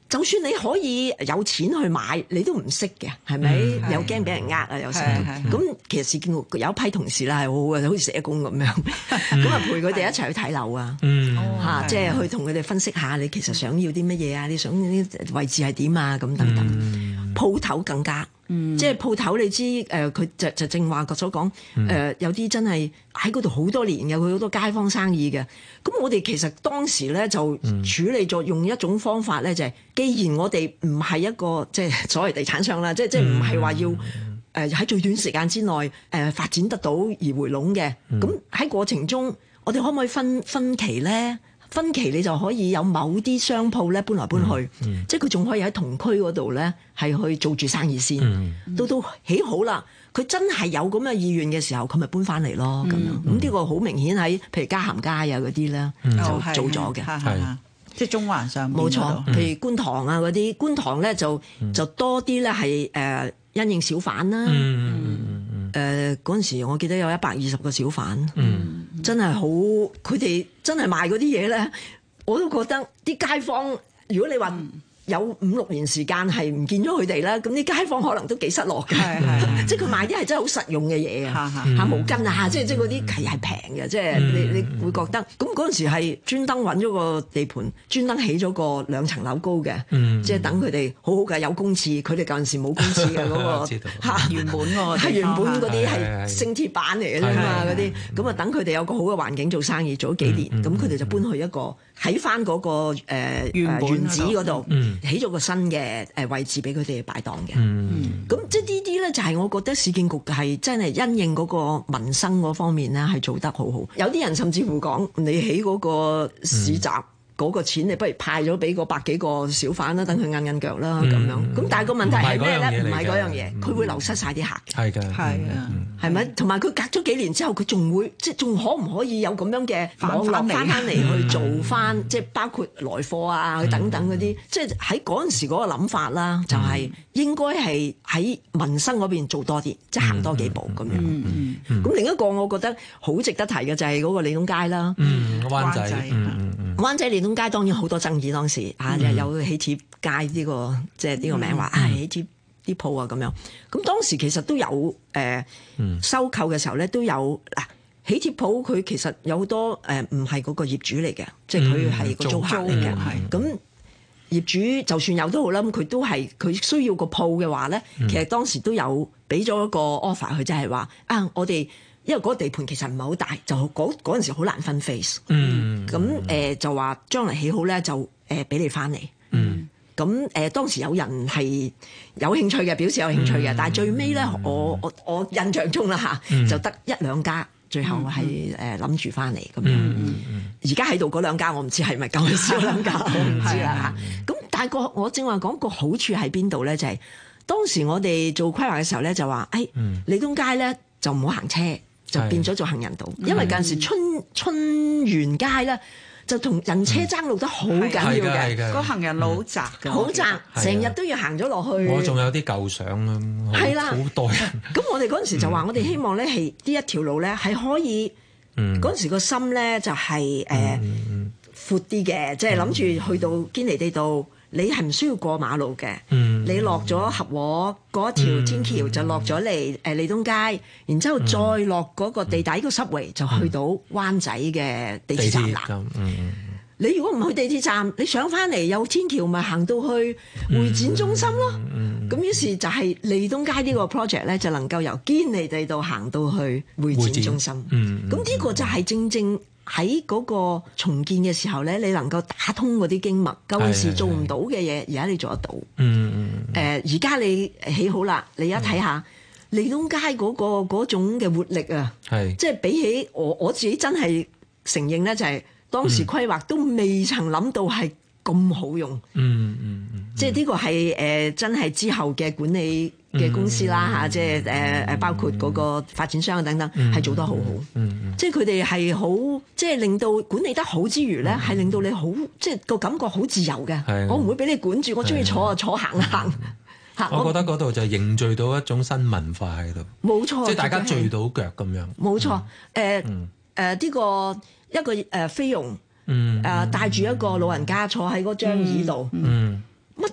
就算你可以有錢去買，你都唔識嘅，係咪？嗯、又驚俾人呃啊，有時咁。其實市建局有一批同事啦，係好好嘅，好似社工咁樣，咁啊、嗯、陪佢哋一齊去睇樓啊，嚇、嗯啊，即係去同佢哋分析下你其實想要啲乜嘢啊，你想啲位置係點啊，咁等等。鋪頭、嗯、更加。嗯、即係鋪頭，你知誒，佢、呃、就就正話所講誒、呃，有啲真係喺嗰度好多年嘅，佢好多街坊生意嘅。咁我哋其實當時咧就處理咗用一種方法咧，就係、是、既然我哋唔係一個即係所謂地產商啦，即係即係唔係話要誒喺、呃、最短時間之內誒、呃、發展得到而回籠嘅。咁喺過程中，我哋可唔可以分分期咧？分期你就可以有某啲商鋪咧搬來搬去，嗯嗯、即係佢仲可以喺同區嗰度咧係去做住生意先，嗯、到到起好啦，佢真係有咁嘅意願嘅時候，佢咪搬翻嚟咯咁樣。咁呢個好明顯喺譬如嘉咸街啊嗰啲咧就做咗嘅， 係即係中環上冇錯。譬如觀塘啊嗰啲，觀塘咧就就多啲咧係誒因應小販啦。誒嗰陣時我記得有一百二十個小販。嗯真係好，佢哋真係賣嗰啲嘢咧，我都覺得啲街坊，如果你話有五六年時間係唔見咗佢哋啦，咁啲街坊可能都幾失落嘅。即係佢賣啲係真係好實用嘅嘢啊，嚇毛巾啊，即係即係嗰啲其實係平嘅，即係你你會覺得。咁嗰陣時係專登揾咗個地盤，專登起咗個兩層樓高嘅，即係等佢哋好好嘅有公廁。佢哋嗰陣時冇公廁嘅嗰個嚇原本喎，係原本嗰啲係鋅鐵板嚟嘅啫嘛，嗰啲咁啊等佢哋有個好嘅環境做生意，做咗幾年，咁佢哋就搬去一個喺翻嗰個誒原址嗰度。起咗個新嘅誒位置俾佢哋擺檔嘅，咁、嗯、即係呢啲咧就係我覺得市建局係真係因應嗰個民生嗰方面咧係做得好好。有啲人甚至乎講你起嗰個市集。嗯嗰個錢你不如派咗俾個百幾個小販啦，等佢韌韌腳啦咁樣。咁但係個問題係咩咧？唔係嗰樣嘢，佢會流失晒啲客嘅。係嘅，係啊，係咪？同埋佢隔咗幾年之後，佢仲會即係仲可唔可以有咁樣嘅網絡翻翻嚟去做翻？即係包括來貨啊等等嗰啲，即係喺嗰陣時嗰個諗法啦，就係應該係喺民生嗰邊做多啲，即係行多幾步咁樣。咁另一個我覺得好值得提嘅就係嗰個利東街啦， 灣仔， 灣仔利東街當然好多爭議，當時啊又有喜帖街呢個即係呢個名話啊喜帖啲鋪啊咁樣。咁當時其實都有誒收購嘅時候咧都有嗱喜帖鋪，佢其實有好多誒唔係嗰個業主嚟嘅，即係佢係個租客嚟嘅。咁業主就算有都好啦，咁佢都係佢需要個鋪嘅話咧，其實當時都有俾咗一個 offer 佢，就係話啊我哋。因為嗰個地盤其實唔係好大，就嗰嗰陣時好難分 phase。嗯，咁誒、呃、就話將來起好咧，就誒俾、呃、你翻嚟。嗯，咁誒、呃、當時有人係有興趣嘅，表示有興趣嘅，嗯、但係最尾咧，我我我印象中啦嚇，嗯、就得一兩家最後係誒諗住翻嚟咁樣。而家喺度嗰兩家，我唔知係咪咁少兩家，我唔知啦嚇。咁但係個我正話講個好處喺邊度咧？就係、是、當時我哋做規劃嘅時候咧，就話誒利東街咧就唔好行車。就變咗做行人道，是因為嗰陣時春春園街咧就同人車爭路得好緊要嘅， 個行人路好窄嘅， 好窄，成日都要行咗落去。 我仲有啲舊相啊，係啦，好多人。 咁我哋嗰陣時就話，我哋希望咧係呢一條路咧係可以，嗰陣、嗯、時個心咧就係誒闊啲嘅，即係諗住去到堅尼地道。你係唔需要過馬路嘅，嗯、你落咗合和嗰條天橋就落咗嚟誒利東街，然之後再落嗰個地底個濕圍就去到灣仔嘅地鐵站啦。嗯、你如果唔去地鐵站，你上翻嚟有天橋，咪行到去會展中心咯。咁、嗯嗯、於是就係利東街呢個 project 咧，就能夠由堅尼地道行到去會展中心。咁呢、嗯嗯、個就係正正。喺嗰個重建嘅時候咧，你能夠打通嗰啲經脈，舊陣時做唔到嘅嘢，而家你做得到。嗯嗯。誒、呃，而家你起好啦，你而家睇下利東街嗰、嗰個嗰種嘅活力啊，係是即係比起我我自己真係承認咧，就係當時規劃都未曾諗到係咁好用。嗯嗯嗯。即係呢個係誒、呃、真係之後嘅管理嘅公司啦嚇，即係誒誒包括嗰個發展商等等，係做得好好。嗯、即係佢哋係好，即係令到管理得好之餘咧，係、嗯、令到你好，即係個感覺好自由嘅。的我唔會俾你管住，我中意坐就坐，行行嚇。 我覺得嗰度就凝聚到一種新文化喺度。 冇錯， 即係大家聚到腳咁樣。 冇錯，誒誒呢個一個誒菲傭誒帶住一個老人家坐喺嗰張椅度。嗯。嗯乜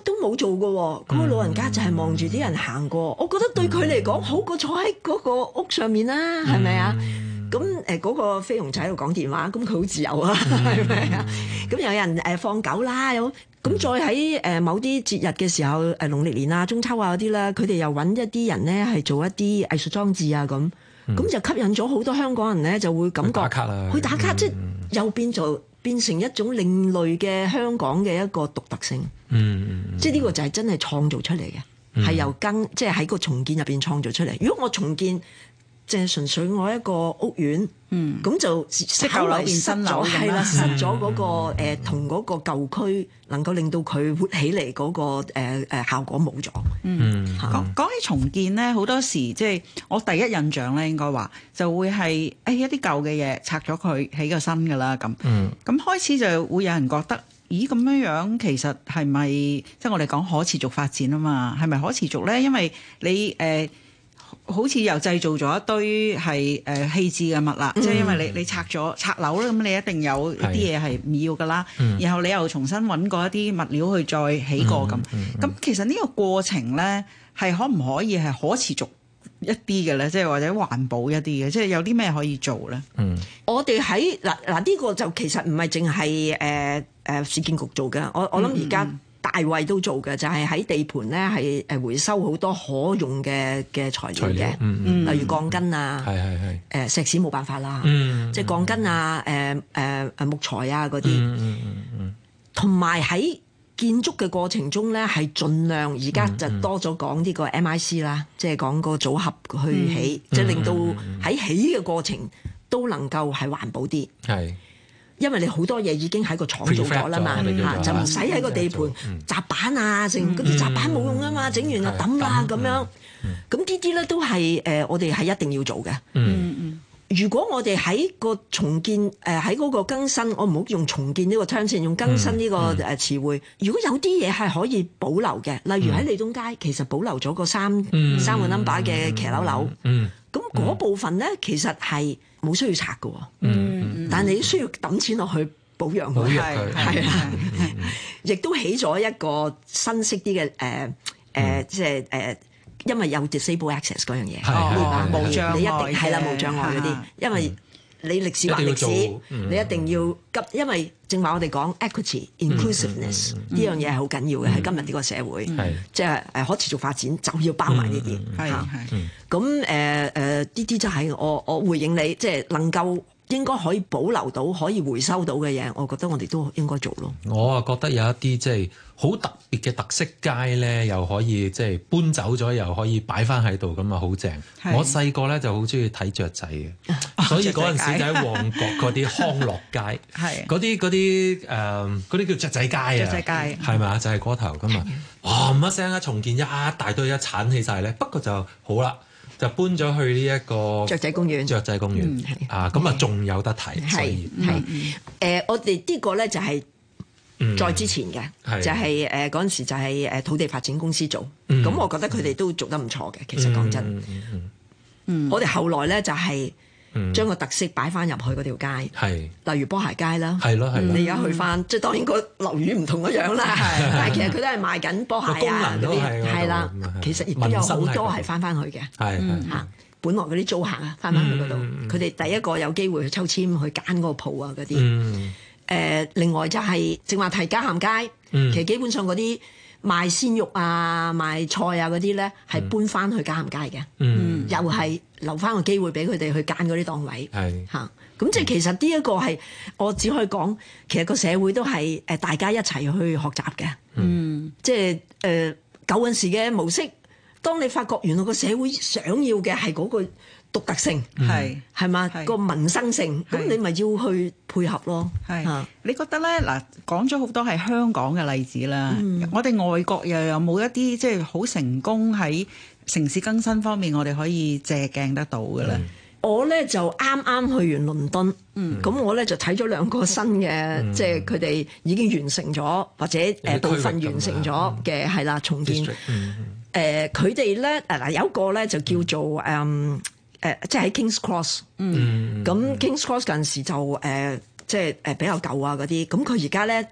都冇做嘅喎，嗰個老人家就係望住啲人行過，我覺得對佢嚟講好過坐喺嗰個屋上面啦，係咪啊？咁誒嗰個菲傭仔喺度講電話，咁佢好自由啊，係咪啊？咁有人誒放狗啦，有咁再喺誒某啲節日嘅時候，誒農曆年啊、中秋啊嗰啲啦，佢哋又揾一啲人咧係做一啲藝術裝置啊咁，咁、嗯、就吸引咗好多香港人咧就會感覺去打卡啦，去打卡、嗯、即係又變做變成一種另類嘅香港嘅一個獨特性，嗯嗯、即係呢個就係真係創造出嚟嘅，係、嗯、由更即係喺個重建入邊創造出嚟。如果我重建，即係純粹我一個屋苑，咁、嗯、就稍微失咗，係啦，失咗嗰、那個誒同嗰個舊區能夠令到佢活起嚟嗰、那個誒誒、呃、效果冇咗。嗯， 講講起重建咧，好多時即係我第一印象咧，應該話就會係誒、哎、一啲舊嘅嘢拆咗佢，起個新㗎啦咁。嗯，咁開始就會有人覺得，咦咁樣樣其實係咪即係我哋講可持續發展啊嘛？係咪可持續咧？因為你誒。呃好似又製造咗一堆係誒棄置嘅物啦，即、嗯、係因為你你拆咗拆樓咧，咁你一定有一啲嘢係唔要噶啦，然後你又重新揾過一啲物料去再起過咁。咁、嗯嗯嗯、其實呢個過程咧係可唔可以係可持續一啲嘅咧？即係或者環保一啲嘅，即係有啲咩可以做咧？嗯，我哋喺嗱嗱呢個就其實唔係淨係誒誒市建局做嘅，我我諗而家。大衛都做嘅，就係、是、喺地盤咧，係誒回收好多可用嘅嘅材料嘅，嗯、例如鋼筋啊，係係係誒石屎冇辦法啦，嗯、即係鋼筋啊，誒誒誒木材啊嗰啲，同埋喺建築嘅過程中咧，係盡量而家就多咗講呢個 M I C 啦，即係講個組合去起，即係、嗯、令到喺起嘅過程都能夠係環保啲。係。因為你好多嘢已經喺個廠做咗啦嘛，嚇就唔使喺個地盤雜板啊，成嗰啲雜板冇用啊嘛，整完就抌啦咁樣。咁呢啲咧都係誒，我哋係一定要做嘅。嗯嗯。如果我哋喺個重建誒喺嗰個更新，我唔好用重建呢個 term 先，用更新呢個誒詞彙。如果有啲嘢係可以保留嘅，例如喺利東街，其實保留咗個三三個 number 嘅騎樓樓。嗯。咁嗰部分咧，其實係冇需要拆嘅。嗯，但係你需要抌錢落去保養佢，係係啦，亦都起咗一個新式啲嘅誒誒，即係誒，因為有 disable access 嗰樣嘢，係無障礙，你一定係啦，無障礙嗰啲，因為你歷史還歷史，你一定要急，因為正話我哋講 equity inclusiveness 呢樣嘢係好緊要嘅喺今日呢個社會，即係誒可持續發展就要包埋呢啲，係係，咁誒誒呢啲就係我我回應你，即係能夠。應該可以保留到、可以回收到嘅嘢，我覺得我哋都應該做咯。我啊覺得有一啲即係好特別嘅特色街咧，又可以即係搬走咗，又可以擺翻喺度，咁啊好正。我細個咧就好中意睇雀仔嘅，啊、所以嗰陣時就喺旺角嗰啲康樂街，嗰啲嗰啲誒嗰啲叫雀仔街啊，雀仔街係咪啊？就係嗰頭咁啊，嘩一聲啊，重建一大堆一剷起晒咧，不過就好啦。就搬咗去呢一個雀仔公園，雀仔公園、嗯、啊，咁啊仲有得睇，所以係誒，我哋呢個咧就係再之前嘅，嗯、就係誒嗰陣時就係誒土地發展公司做，咁、嗯、我覺得佢哋都做得唔錯嘅，其實講真，嗯嗯嗯、我哋後來咧就係、是。將個特色擺翻入去嗰條街，係例如波鞋街啦，係咯係。你而家去翻，即係當然個樓宇唔同嗰樣啦，但係其實佢都係賣緊波鞋啊嗰啲，係啦。其實亦都有好多係翻翻去嘅，係嚇。本來嗰啲租客啊，翻翻去嗰度，佢哋第一個有機會去抽籤去揀嗰個鋪啊嗰啲。誒，另外就係正話提嘉咸街，其實基本上嗰啲。賣鮮肉啊、賣菜啊嗰啲咧，係搬翻去嘉咸街嘅，嗯、又係留翻個機會俾佢哋去揀嗰啲檔位，係嚇。咁即係其實呢一個係我只可以講，其實個社會都係誒大家一齊去學習嘅，嗯，即係誒舊陣時嘅模式。當你發覺原來個社會想要嘅係嗰個獨特性，係係嘛個民生性，咁你咪要去配合咯。係，啊、你覺得咧嗱，講咗好多係香港嘅例子啦，嗯、我哋外國又有冇一啲即係好成功喺城市更新方面，我哋可以借鏡得到嘅咧？嗯、我咧就啱啱去完倫敦，咁、嗯、我咧就睇咗兩個新嘅，嗯、即係佢哋已經完成咗或者誒部分完成咗嘅係啦重建。誒佢哋咧誒嗱有一個咧就叫做誒誒、嗯呃、即係喺 King's Cross，嗯，咁 King's Cross 嗰陣時就誒、呃、即係誒比較舊啊嗰啲，咁佢而家咧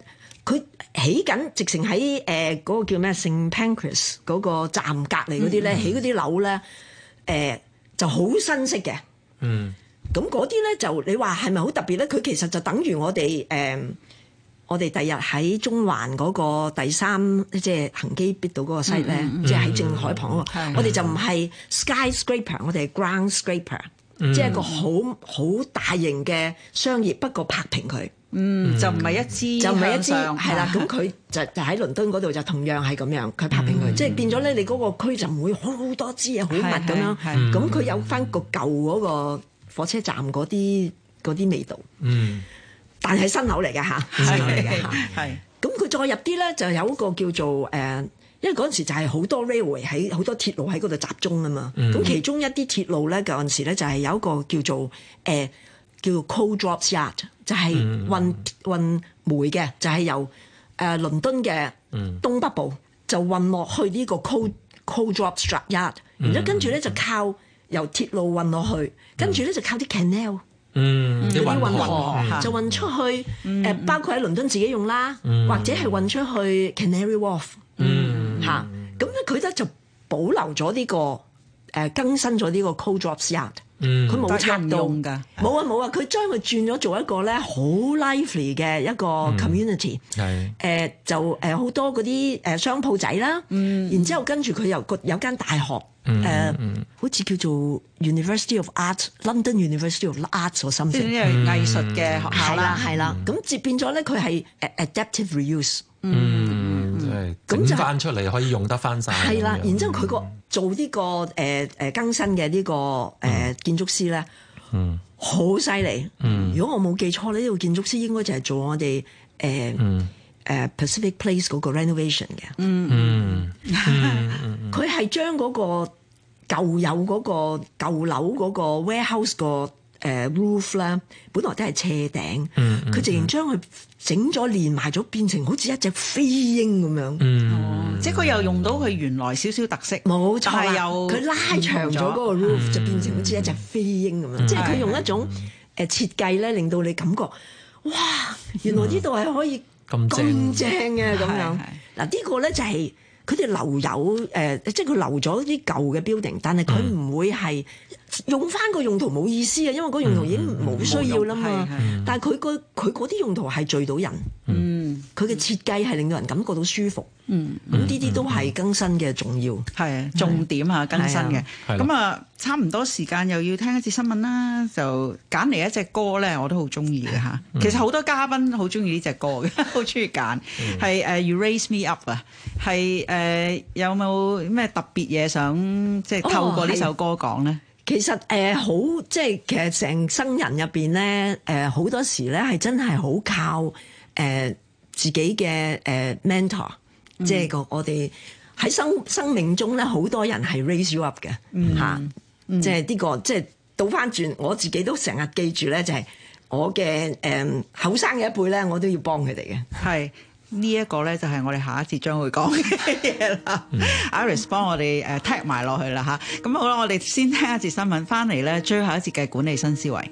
佢起緊直情喺誒嗰個叫咩聖 Pancras 嗰個站隔離嗰啲咧，起嗰啲樓咧誒就好新式嘅。嗯，咁嗰啲咧就你話係咪好特別咧？佢其實就等於我哋誒、呃、我哋第日喺中環嗰個第三即係恒基必到嗰個 site 咧，嗯嗯、即係喺正海旁嗰、那個，我哋就唔係 skyscraper， 我哋係 ground scraper，、嗯、即係一個好好大型嘅商業，不過拍平佢。 嗯，就唔係一支， 就唔係一支，係啦。咁佢就就喺倫敦嗰度就同樣係咁樣，佢拍平佢，嗯、即係變咗咧，你嗰個區就唔會好好多支嘢好密咁樣。咁佢有翻個舊嗰個火車站嗰啲嗰啲味道。嗯，但係新樓嚟嘅嚇，新樓嚟嘅嚇。係。咁佢再入啲咧，就有一個叫做誒、呃，因為嗰陣時就係好多 railway 喺好多鐵路喺嗰度集中啊嘛。咁、嗯、其中一啲鐵路咧，嗰陣時咧就係有一個叫做誒。呃叫做 coal drops yard， 就係運運煤嘅，就係、是、由誒、呃、倫敦嘅東北部就運落去呢個 coal coal drops yard， 然之後跟住咧就靠由鐵路運落去，跟住咧就靠啲 canal， 啲運河就運出去誒、嗯呃，包括喺倫敦自己用啦，嗯、或者係運出去 Canary Wharf， 嚇、嗯，咁咧佢咧就保留咗呢、這個誒、呃、更新咗呢個 coal drops yard。佢冇拆到，冇啊冇啊！佢將佢轉咗做一個咧好 lively 嘅一個 community，係誒就誒好多嗰啲誒商鋪仔啦，然之後跟住佢又個有間大學誒，好似叫做 University of Art，London University of Arts 或 something， 即係藝術嘅學校啦，係啦，咁接變咗咧佢係誒 adaptive reuse，嗯，即係整翻出嚟可以用得翻晒。係啦，然之後佢個。做呢、這個誒誒、呃、更新嘅呢、這個誒、呃、建築師咧，好犀利。如果我冇記錯咧，呢、這個建築師應該就係做我哋誒誒 Pacific Place 嗰個 renovation 嘅。嗯嗯，佢係將嗰個舊有嗰個舊樓嗰個 warehouse 個誒 roof 咧，本來都係斜頂，佢直情將佢整咗連埋咗，變成好似一隻飛鷹咁樣。嗯哦、即係佢又用到佢原來少少特色，冇錯啦。佢拉長咗嗰個 roof，、嗯、就變成好似一隻飛鷹咁樣。嗯、即係佢用一種誒設計咧，令到你感覺哇，原來呢度係可以咁正嘅咁樣。嗱呢個咧就係佢哋留有誒、呃，即係佢留咗啲舊嘅 building， 但係佢唔會係。用翻個用途冇意思啊，因為嗰用途已經冇需要啦嘛。嗯、但係佢個佢嗰啲用途係聚到人，佢嘅、嗯、設計係令到人感覺到舒服。咁呢啲都係更新嘅重要，係啊重點啊更新嘅。咁啊差唔多時間又要聽一次新聞啦，就揀嚟一隻歌咧，我都好中意嘅嚇。嗯、其實好多嘉賓好中意呢隻歌嘅，好中意揀。係誒、uh, You Raise Me Up 啊，係誒有冇咩特別嘢想即係透過呢首歌講咧？其實誒好、呃、即係其實成生人入邊咧誒好多時咧係真係好靠誒、呃、自己嘅誒、呃、mentor，、嗯、即係個我哋喺生生命中咧好多人係 raise you up 嘅嚇、嗯嗯，即係呢、這個即係倒翻轉我自己都成日記住咧，就係、是、我嘅誒後生嘅一輩咧，我都要幫佢哋嘅係。呢一個咧就係我哋下一節將會講嘅嘢啦。Iris 幫我哋誒 tag 埋落去啦嚇。咁好啦，我哋先聽一節新聞，翻嚟咧最後一節嘅管理新思維。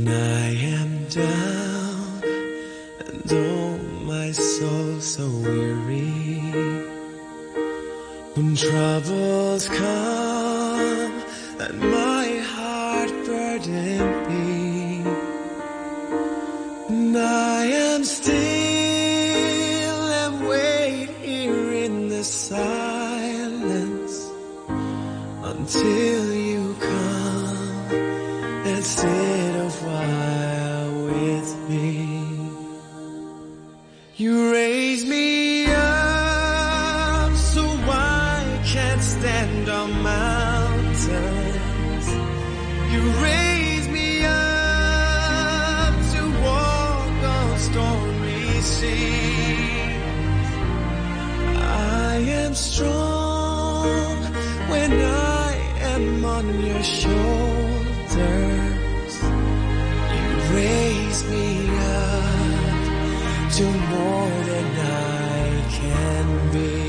Silence until you come and sit a while with me. You raise me up so I can't stand on mountains. You raise me up to walk on stormy seas. I am strong when I am on your shoulders. You raise me up to more than I can be.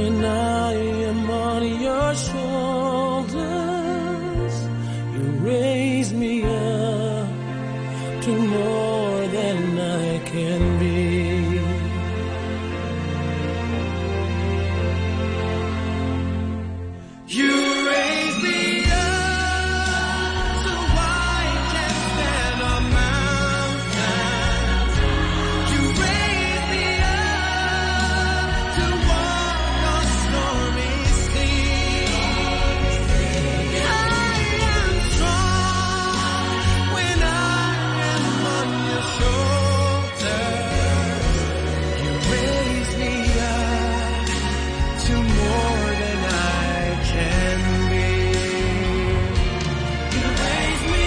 When I am on your shoulders, you raise me up to more than I can be. You raise me up so I can stand on mountains. You raise me up to walk on stormy seas. I am strong when I am on your shoulders. You raise me up to more than I can be. You raise me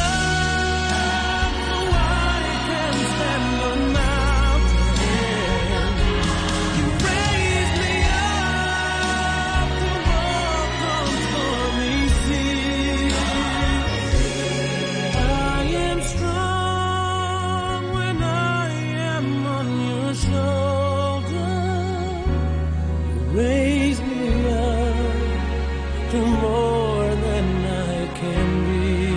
up so I can stand on mountains. You raise me up to walk on stormy seas. I am strong when I am on your shoulder. You raise me up to more than I can be.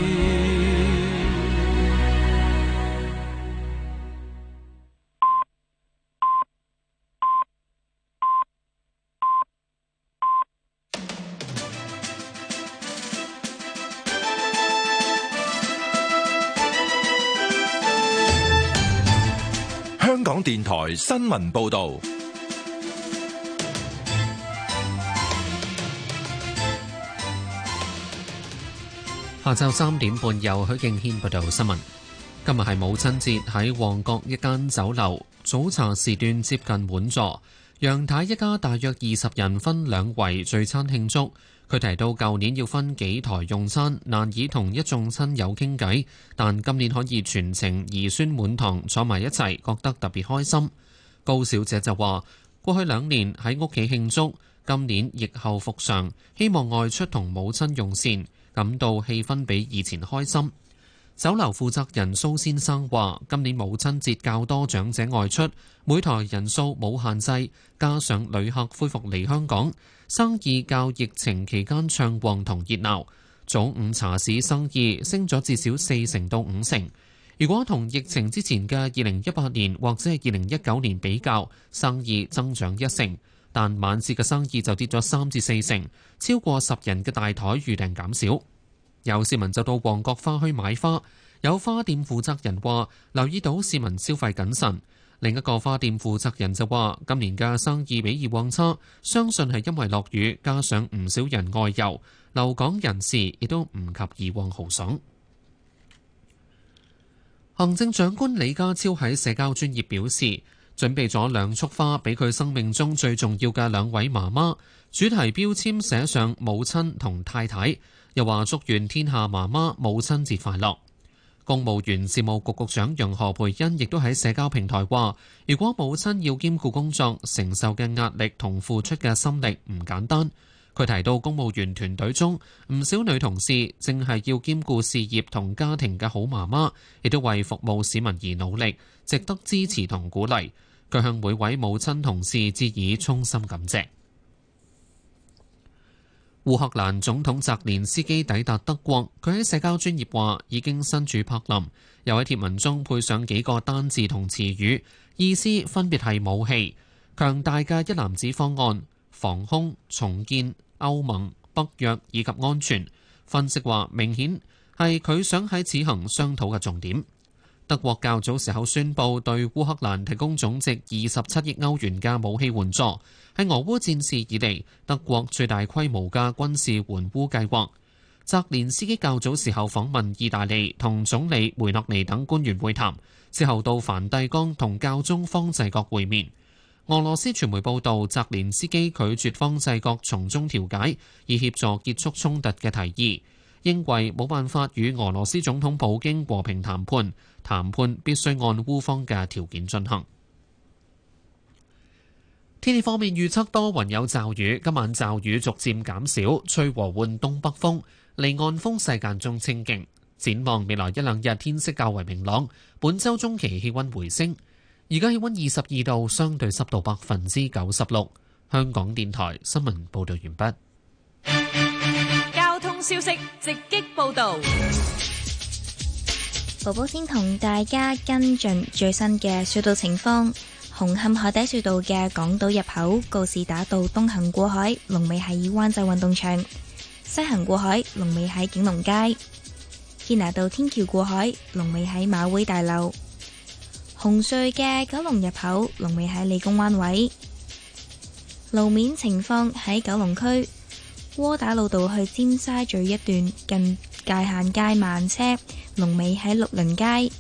香港電台新聞報導。 下晝三點半，由許敬軒報道新聞。今日係母親節，喺旺角一間酒樓，早茶時段接近滿座。楊太一家大約二十人分兩圍聚餐慶祝。佢提到舊年要分幾台用餐，難以同一眾親友傾偈，但今年可以全程兒孫滿堂坐埋一齊，覺得特別開心。高小姐就話：過去兩年喺屋企慶祝，今年疫後復常，希望外出同母親用膳，感到氣氛比以前開心。酒樓負責人蘇先生話：今年母親節較多長者外出，每台人數冇限制，加上旅客恢復嚟香港，生意較疫情期間暢旺同熱鬧。早午茶市生意升咗至少四成到五成。如果同疫情之前嘅二零一八年或者係二零一九年比較，生意增長一成，但晚市嘅生意就跌咗三至四成，超過十人嘅大台預訂減少。有市民就到旺角花墟買花，有花店負責人話留意到市民消費謹慎。另一個花店負責人就話今年嘅生意比以往差，相信係因為落雨，加上唔少人外遊，留港人士亦都唔及以往豪爽。行政長官李家超喺社交專頁表示，準備咗兩束花俾佢生命中最重要嘅兩位媽媽，主題標籤寫上母親同太太，又話祝願天下媽媽母親節快樂。公務員事務局局長楊何蓓茵亦都喺社交平台話，如果母親要兼顧工作，承受嘅壓力同付出嘅心力唔簡單。佢提到公務員團隊中唔少女同事正係要兼顧事業同家庭嘅好媽媽，亦都為服務市民而努力，值得支持同鼓勵。佢向每位母親同事致以衷心感謝。烏克蘭總統澤連斯基抵達德國，佢喺社交專頁話已經身處柏林，又喺貼文中配上幾個單字同詞語，意思分別係武器、強大嘅一籃子方案、防空、重建、歐盟、北約以及安全。分析話明顯係佢想喺此行商討嘅重點。德國較早時候宣布對烏克蘭提供總值二十七億歐元嘅武器援助，係俄烏戰事以嚟德國最大規模嘅軍事援烏計劃。澤連斯基較早時候訪問意大利，同總理梅洛尼等官員會談，之後到梵蒂岡同教宗方濟各會面。俄羅斯傳媒報道，澤連斯基拒絕方濟各從中調解，以協助結束衝突嘅提議，認為冇辦法與俄羅斯總統普京和平談判，談判必須按烏方嘅條件進行。天氣方面預測多雲有驟雨，今晚驟雨逐漸減少，吹和緩東北風，離岸風勢間中清勁。展望未來一兩日天色較為明朗，本週中期氣温回升。而家氣温二十二度，相對濕度百分之九十六。 香港電台新聞報導完畢。交通消息直擊報導。 寶寶先同大家跟進最新嘅隧道情況。紅磡海底隧道嘅港島入口告士打道東行過海，龍尾喺灣仔運動場；西行過海，龍尾喺景隆街。堅拿道天橋過海，龍尾喺馬會大樓。紅隧嘅九龍入口，龍尾喺理工灣位。路面情況喺九龍區窩打老道去尖沙咀一段近界限街慢車，龍尾喺綠林街。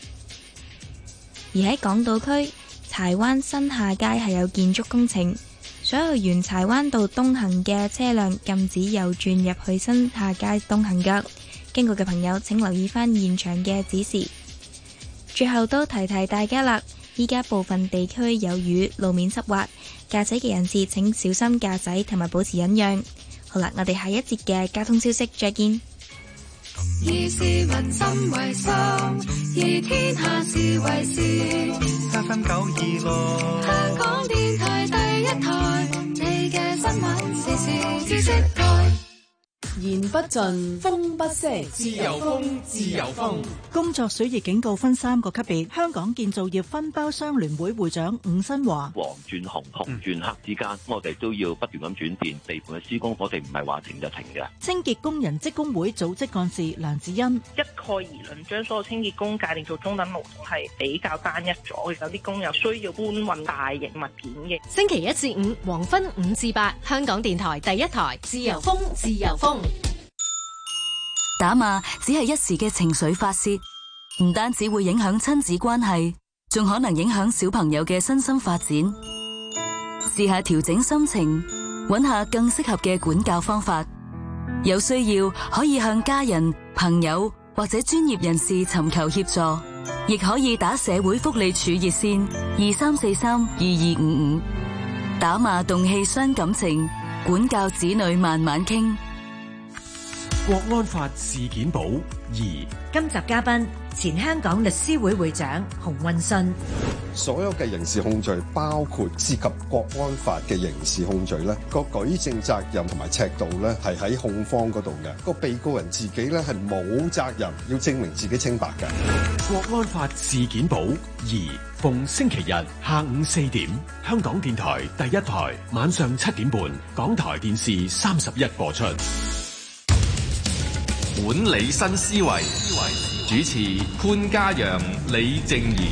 而喺港島區柴灣新下街係有建築工程，所有沿柴灣道東行嘅車輛禁止右轉入去新下街東行㗎。經過嘅朋友請留意返現場嘅指示。最後都提提大家啦，依家部分地區有雨，路面濕滑，駕駛嘅人士請小心駕駛同埋保持忍讓。好啦，我哋下一節嘅交通消息再見。 以市民心為心，以天下事為事。三分九二六，香港電台第一台，你嘅新聞時事知識台。 言不盡，風不息，自由風，自由風。 工作暑熱警告分三個級別。香港建造業分包商聯會會長伍新華： 黃轉紅，紅轉黑之間，我哋都要不斷咁轉變。地盤嘅施工，我哋唔係話停就停嘅。 清潔工人職工會組織幹事梁子欣： 一概而論，將所有清潔工界定做中等勞動係比較單一咗，有啲工友需要搬運大型物件嘅。 星期一至五黃昏五至八，香港電台第一台，自由風，自由風。 打罵只係一時嘅情緒發洩，唔單止會影響親子關係，仲可能影響小朋友嘅身心發展。試下調整心情，揾下更適合嘅管教方法。有需要可以向家人、朋友或者專業人士尋求協助，亦可以打社會福利署熱線二三四三二二五五。打罵動氣傷感情，管教子女慢慢傾。 國安法事件簿二， 今集嘉賓前香港律師會會長洪運信。 所有嘅刑事控罪，包括涉及國安法嘅刑事控罪咧，個舉證責任同埋尺度咧，係喺控方嗰度嘅。個被告人自己咧係冇責任要證明自己清白嘅。 國安法事件簿二，逢星期日下午四點，香港電台第一台，晚上七點半，港台電視三十一播出。 管理新思維，主持潘嘉陽、李靜宜。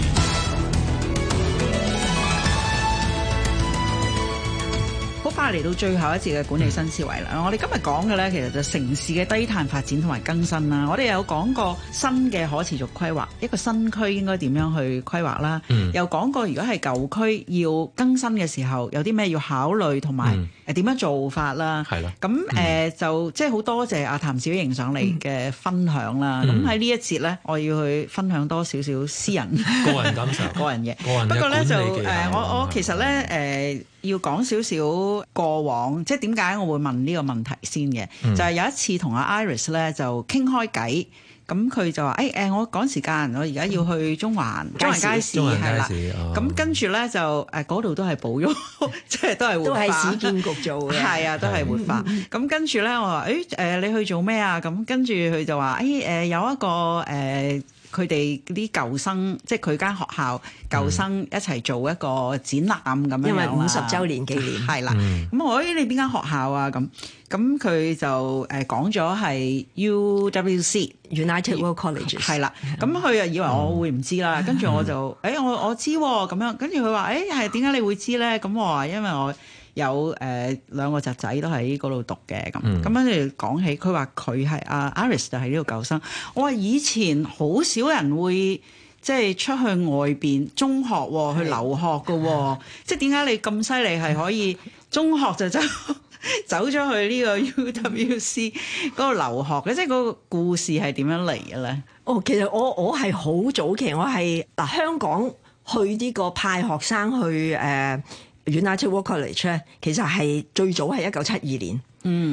好快嚟到最後一節嘅管理新思維啦！我哋今日講嘅咧，其實就城市嘅低碳發展同埋更新啦。我哋有講過新嘅可持續規劃，一個新區應該點樣去規劃啦。嗯、又講過如果係舊區要更新嘅時候，有啲咩要考慮同埋誒點樣做法啦。係啦、嗯。咁誒、呃、就即係好多謝阿譚小瑩上嚟嘅分享啦。咁喺呢一節咧，我要去分享多少少私人個人感受、個人嘢。 個人嘅管理技巧。不過咧就誒、呃，我我其實咧誒。呃要講少少過往，即係點解我會問呢個問題先嘅？嗯、就係有一次同阿 Iris 咧就傾開偈，咁佢就話：誒、哎、誒、呃，我趕時間，我而家要去中環、嗯、中環街市係啦。咁跟住咧就誒嗰度都係保育，即係都係活化。都係市建局做嘅。係啊，都係活化。咁跟住咧，我話：誒、哎、誒，你去做咩啊？咁跟住佢就話：誒、哎、誒、呃，有一個誒。呃佢哋啲舊生，即係佢間學校舊生一齊做一個展覽咁樣，因為五十週年紀念係啦。咁我誒你邊間學校啊？咁咁佢就誒講咗係 U W C United World College 係啦。咁佢又以為我會唔知啦，跟住我就誒、欸、我我知咁、啊、樣，跟住佢話誒係點解你會知咧？咁我話因為我有誒、呃、兩個侄仔都喺嗰度讀嘅，咁咁跟住講起，佢話佢係阿 Iris 就係呢個舊生。我話以前好少人會即係出去外邊中學、哦、去留學嘅、哦，即係點解你咁犀利係可以中學就走走咗去呢個 U W C 嗰度留學嘅？即係嗰個故事係點樣嚟嘅咧？ 哦，其實我我係好早期，我係嗱香港去呢個派學生去誒。呃United World College 咧，其實係最早係一九七二年。嗯，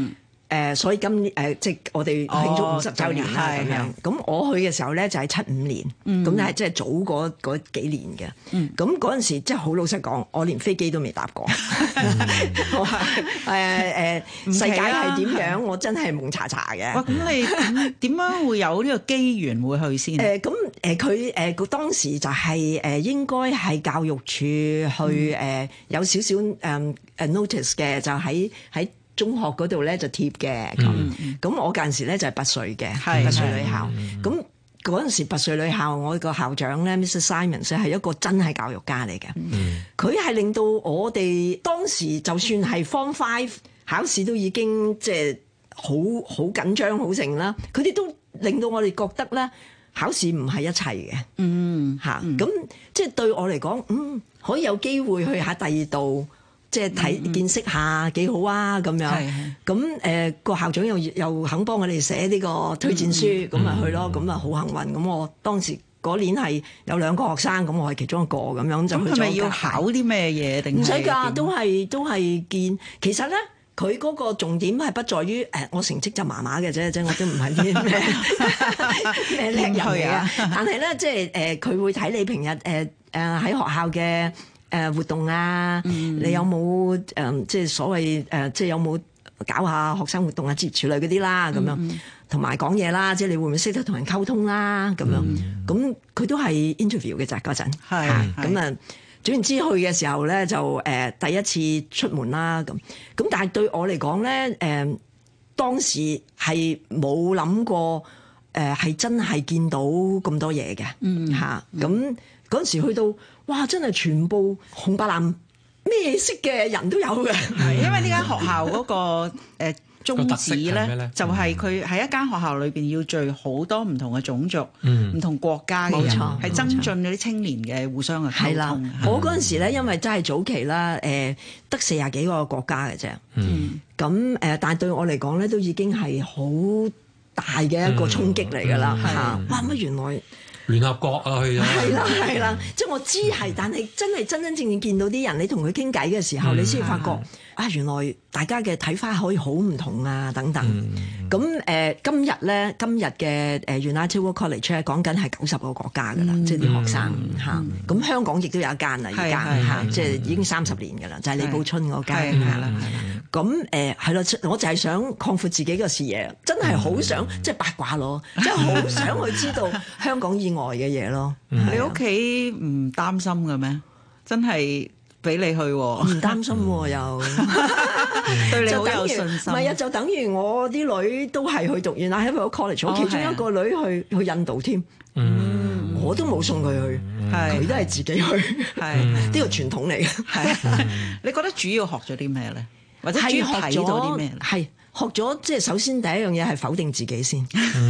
誒，所以今誒、呃、即係我哋慶祝五十週年啦咁樣。咁我去嘅時候咧就係七五年，咁係即係早嗰嗰幾年嘅。咁嗰陣時即係好老實講，我連飛機都未搭過。我話誒誒世界係點樣？我真係蒙查查嘅。 哇！咁你點樣會有呢個機緣會去先？ 誒咁誒佢誒佢當時就係、是、誒、呃、應該係教育處去誒、呃、有少少誒誒 notice 嘅，就喺喺中學嗰度咧就貼嘅。咁咁、嗯、我嗰陣時咧就係拔萃嘅拔萃女校。咁嗰陣時拔萃女校，我個校長咧 Mister Simons 係一個真係教育家嚟嘅。佢係、嗯、令到我哋當時就算係 Form Five 考試都已經即係好好緊張好盛啦。佢哋都令到我哋覺得咧考試唔係一切嘅。嗯嚇，咁即係對我嚟講，嗯可以有機會去下第二度。即係睇見識下幾好啊咁樣，咁誒個校長又又肯幫我哋寫呢個推薦書，咁咪、嗯、去咯，咁啊好幸運。咁我當時嗰年係有兩個學生，咁我係其中一個咁樣就去咗。咁係咪要考啲咩嘢定？唔使㗎，都係都係見。其實咧，佢嗰個重點係不在於誒，我成績就麻麻嘅啫，即係我都唔係啲咩咩叻人嚟啊。但係咧，即係誒，佢、呃、會睇你平日誒誒喺學校嘅。誒活動啊，嗯、你有冇誒、呃、即係所謂誒、呃、即係有冇搞下學生活動啊、接處理嗰啲啦咁樣，同埋講嘢啦，即係你會唔會識得同人溝通啦咁樣？咁佢、嗯、都係 interview 嘅咋嗰陣，係咁啊。總言之去嘅時候咧，就誒、呃、第一次出門啦咁。咁但係對我嚟講咧，誒、呃、當時係冇諗過誒係、呃、真係見到咁多嘢嘅嚇。咁嗰陣時去到。哇！真係全部紅白藍咩色嘅人都有嘅， 係因為呢間學校嗰個誒宗旨咧，就係佢喺一間學校裏邊要聚好多唔同嘅種族、唔同國家嘅人，係增進嗰啲青年嘅互相嘅溝通。 我嗰陣時咧，因為真係早期啦，誒得四十幾個國家嘅啫，咁誒，但係對我嚟講咧，都已經係好大嘅一個衝擊嚟㗎啦嚇！哇！乜原來〜 聯合國啊，去咗係啦係啦，即係我知係，但係真係真真正正見到啲人，你同佢傾偈嘅時候，嗯、你先發覺啊，原來大家嘅睇法可以好唔同啊，等等。咁誒、嗯呃，今日咧，今日嘅誒 United World College 咧，講緊係九十個國家㗎啦，嗯、即係啲學生嚇。咁、嗯、香港亦都有一間啦，而家嚇，即係已經三十年㗎啦，就係、是、李寶春嗰間係啦。咁誒係咯，我就係想擴闊自己嘅視野，真係好想、嗯、即係八卦咯，即係好想去知道香港以外嘅嘢咯。 嗯、你屋企唔擔心嘅咩？真係俾你去喎， 唔擔心喎又， 對你好有信心。 唔係啊，就等於我啲女都係去讀完啦，喺個 college，我其中一個女去去印度添，嗯，我都冇送佢去，佢都係自己去，係呢個傳統嚟嘅。係， 你覺得主要學咗啲咩咧？或者主要睇到啲咩？ 係學咗，即係首先第一樣嘢係否定自己先，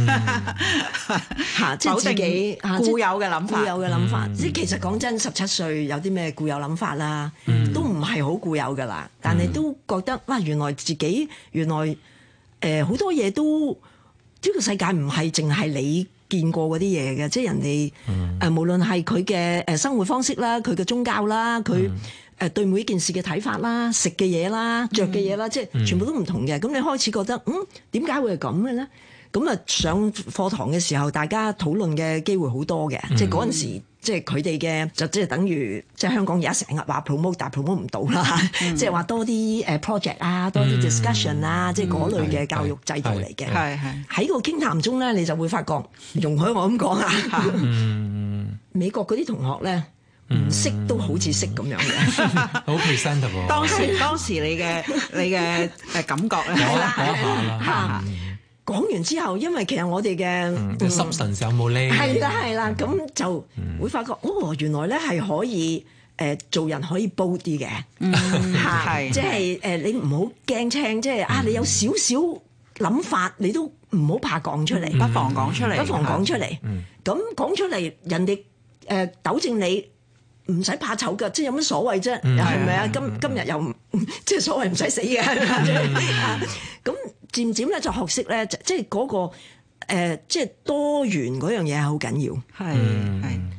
嚇，即係自己固有嘅諗法， 固有嘅諗法。即係其實講真，十七歲有啲咩固有諗法啦，都唔係好固有噶啦。但係都覺得哇，原來自己原來誒好多嘢都呢個世界唔係淨係你見過嗰啲嘢嘅，即係人哋誒無論係佢嘅誒生活方式啦，佢嘅宗教啦，佢。誒對每一件事嘅睇法啦，食嘅嘢啦，着嘅嘢啦，嗯、即係全部都唔同嘅。咁、嗯、你開始覺得，嗯，點解會係咁嘅咧？咁啊，上課堂嘅時候，大家討論嘅機會好多嘅、嗯。即係嗰陣時，即係佢哋嘅就即係等於即係香港而家成日話 promote，但係 promote 唔到啦。嗯、即係話多啲誒 project 啊，多啲 discussion 啊，嗯、即係嗰類嘅教育制度嚟嘅。係係喺個傾談中咧，你就會發覺，容許我咁講啊。嗯、美國嗰啲同學咧。唔識都好似識咁樣嘅， 好 presentable。 當時當時你嘅你嘅誒感覺咧， 講下啦。 講完之後，因為其實我哋嘅 substance 有冇咧？ 係啦係啦，咁就會發覺哦，原來咧係可以誒做人可以煲啲嘅，係即係誒你唔好驚青，即係啊你有少少諗法，你都唔好怕講出嚟， 不妨講出嚟， 不妨講出嚟。咁講出嚟，人哋誒糾正你。唔使怕醜㗎，即係有乜所謂啫？係咪啊？今今日又即係所謂唔使死嘅，咁漸漸咧就學識咧，即係嗰個誒，即係多元嗰樣嘢係好緊要。係係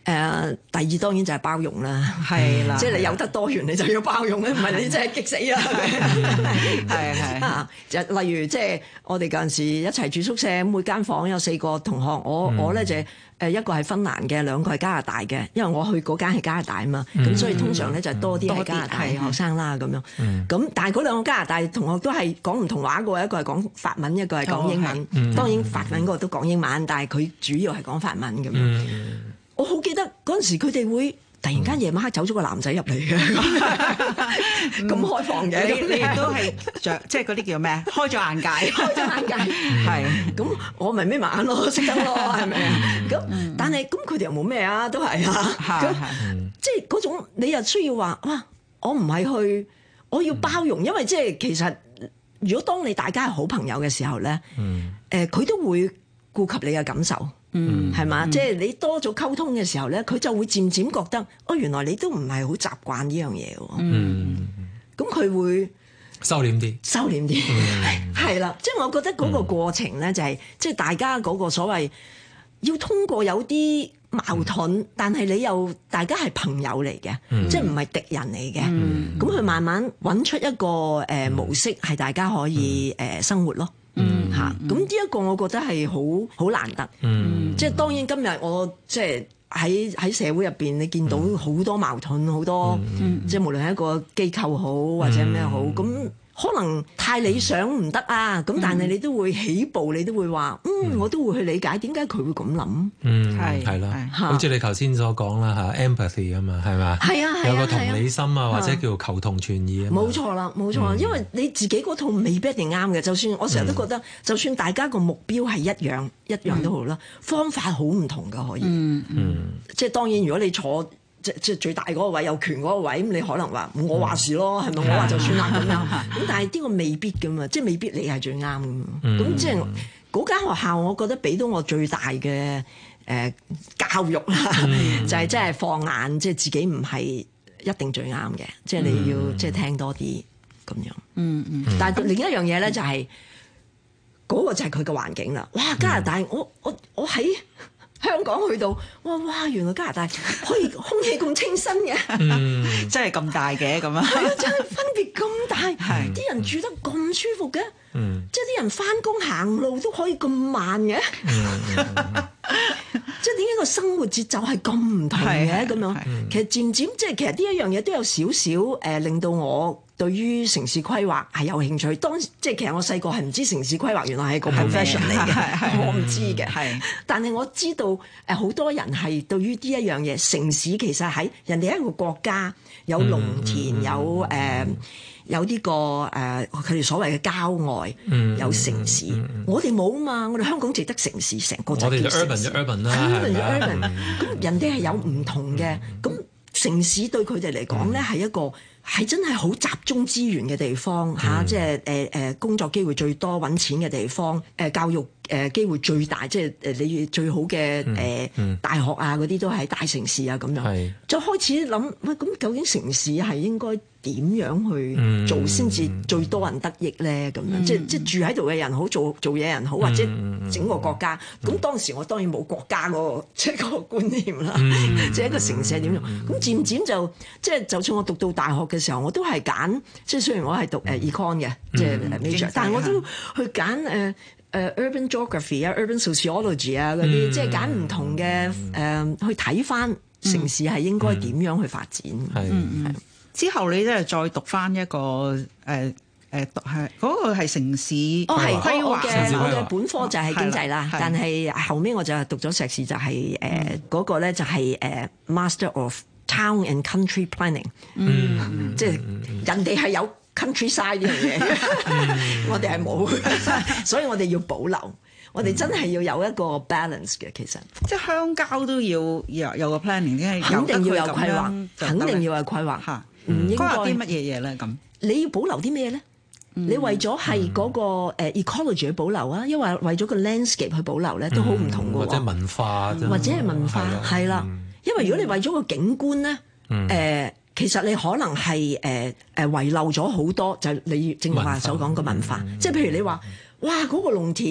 誒，第二當然就係包容啦， 係啦， 即係你有得多元，你就要包容咧，唔係你真係激死啊！ 係係啊，就例如即係我哋嗰陣時一齊住宿舍，每間房有四個同學，我、嗯、我咧就誒一個係芬蘭嘅，兩個係加拿大嘅，因為我去嗰間係加拿大啊嘛，咁、嗯、所以通常咧就多啲係加拿大學生啦咁樣。咁、嗯、但係嗰兩個加拿大同學都係講唔同話嘅，一個係講法文，一個係講英文。哦嗯、當然法文嗰個都講英文，但係佢主要係講法文咁樣。嗯、我好記得嗰陣時佢哋會突然間夜晚黑走咗個男仔入嚟嘅，咁開放嘅， 你你亦都係著即係嗰啲叫咩？開咗眼界， 開咗眼界，係咁我咪眯埋眼咯，識得咯，係咪啊？咁但係咁佢哋又冇咩啊，都係啊，咁即係嗰種你又需要話哇，我唔係去，我要包容，因為即係其實如果當你大家係好朋友嘅時候咧，誒佢都會顧及你嘅感受。嗯，係嘛？嗯、即係你多咗溝通嘅時候咧，佢就會漸漸覺得，哦，原來你都唔係好習慣呢樣嘢喎。嗯，咁佢會收斂啲， 收斂啲，係啦、嗯。即係我覺得嗰個過程咧、就係，就係即係大家嗰個所謂要通過有啲矛盾，嗯、但係你又大家係朋友嚟嘅，嗯、即係唔係敵人嚟嘅。咁佢、嗯、慢慢揾出一個誒、呃、模式，係大家可以誒、呃、生活咯。嗯吓，咁呢一個我覺得係好好難得，嗯，即係當然今日我即係喺喺社會入邊，你見到好多矛盾，好多，嗯、即係無論係一個機構好或者咩好，咁、嗯、可能太理想唔得啊，咁、嗯、但係你都會起步，你都會話，嗯，我都會去理解點解佢會咁諗， 嗯，係係啦，好似你頭先所講啦吓 empathy 啊嘛，係嘛， 係啊， 有個同理心啊，或者叫求同存異啊， 冇錯啦，冇錯，因為你自己嗰套未必一定啱嘅，就算我成日都覺得，就算大家個目標係一樣一樣都好啦，方法好唔同噶可以，嗯嗯，即係當然如果你坐。即即最大嗰個位有權嗰個位，咁你可能話我話事咯，係咪、嗯？我話就算啦咁樣。咁但係呢個未必噶嘛，即係未必你係最啱噶嘛。咁、嗯、即係嗰間學校，我覺得俾到我最大嘅誒、呃、教育啦，嗯、就係即係放眼，即係自己唔係一定最啱嘅，即係你要、嗯、即係聽多啲咁樣。嗯嗯。但係另一樣嘢咧，就係、是、嗰、那個就係佢嘅環境啦。哇！加拿大，嗯、我我我喺香港去到，哇哇！原來加拿大可以空氣咁清新嘅， 嗯、真係咁大嘅咁啊！ 係啊，真係分別咁大，啲是人住得咁舒服嘅，嗯、即係啲人返工行路都可以咁慢嘅，嗯、即係點解個生活節奏係咁唔同嘅咁樣？其實漸漸即係其實呢一樣嘢都有少少誒，令到我對於城市規劃係有興趣。當即係其實我細個係唔知城市規劃原來係個 profession 嚟嘅，我唔知嘅。係，但係我知道誒好多人係對於呢一樣嘢，城市其實喺人哋一個國家有農田，嗯、有誒、呃、有呢、這個誒佢哋所謂嘅郊外，嗯、有城市。嗯嗯、我哋冇啊嘛，我哋香港淨得城市，成個就叫城市。 urban urban 啦，係咪？ 咁人哋係有唔同嘅，咁、嗯、城市對佢哋嚟講咧係一個。係真係好集中資源嘅地方嚇、嗯啊，即係誒誒工作機會最多、揾錢嘅地方，誒、呃、教育誒、呃、機會最大，即係誒你最好嘅誒、呃嗯、大學啊嗰啲都喺大城市啊咁樣，是就開始諗喂，咁究竟城市係應該點樣去做先至最多人得益咧？咁樣、嗯、即係即係住喺度嘅人好，做做嘢人好，或者整個國家。咁、嗯、當時我當然冇國家嗰個即係嗰個觀念啦，嗯、即係一個城市係點樣。咁漸漸就即係就算我讀到大學嘅時候，我都係揀即係雖然我係讀誒 econ 嘅，即係 major，但係我都去揀誒誒 urban geography 啊、urban sociology 啊嗰啲，即係揀唔同嘅誒去睇翻城市係應該點樣去發展。係、嗯。係之後你咧再讀翻一個誒誒讀係嗰個係城市哦係規劃嘅，我嘅本科就係經濟啦，但係後尾我就讀咗碩士就係誒嗰個咧就係誒 Master of Town and Country Planning，嗯，即係人哋係有 countryside 呢樣嘢，我哋係冇，所以我哋要保留。我哋真係要有一個 balance 嘅，其實即係鄉郊都要有有個 planning， 肯定要有規劃，肯定要有規劃嚇。唔應該啲乜嘢嘢咧？咁你要保留啲咩咧？嗯、你為咗係嗰個誒 ecology 去保留啊，因為為咗個 landscape 去保留咧，都好唔同嘅喎。 或者文化， 或者係文化，係啦。因為如果你為咗個景觀咧，誒、嗯呃，其實你可能係誒誒遺漏咗好多，就係、你正話所講嘅文化。即係、嗯、譬如你話，哇，嗰、嗰個農田。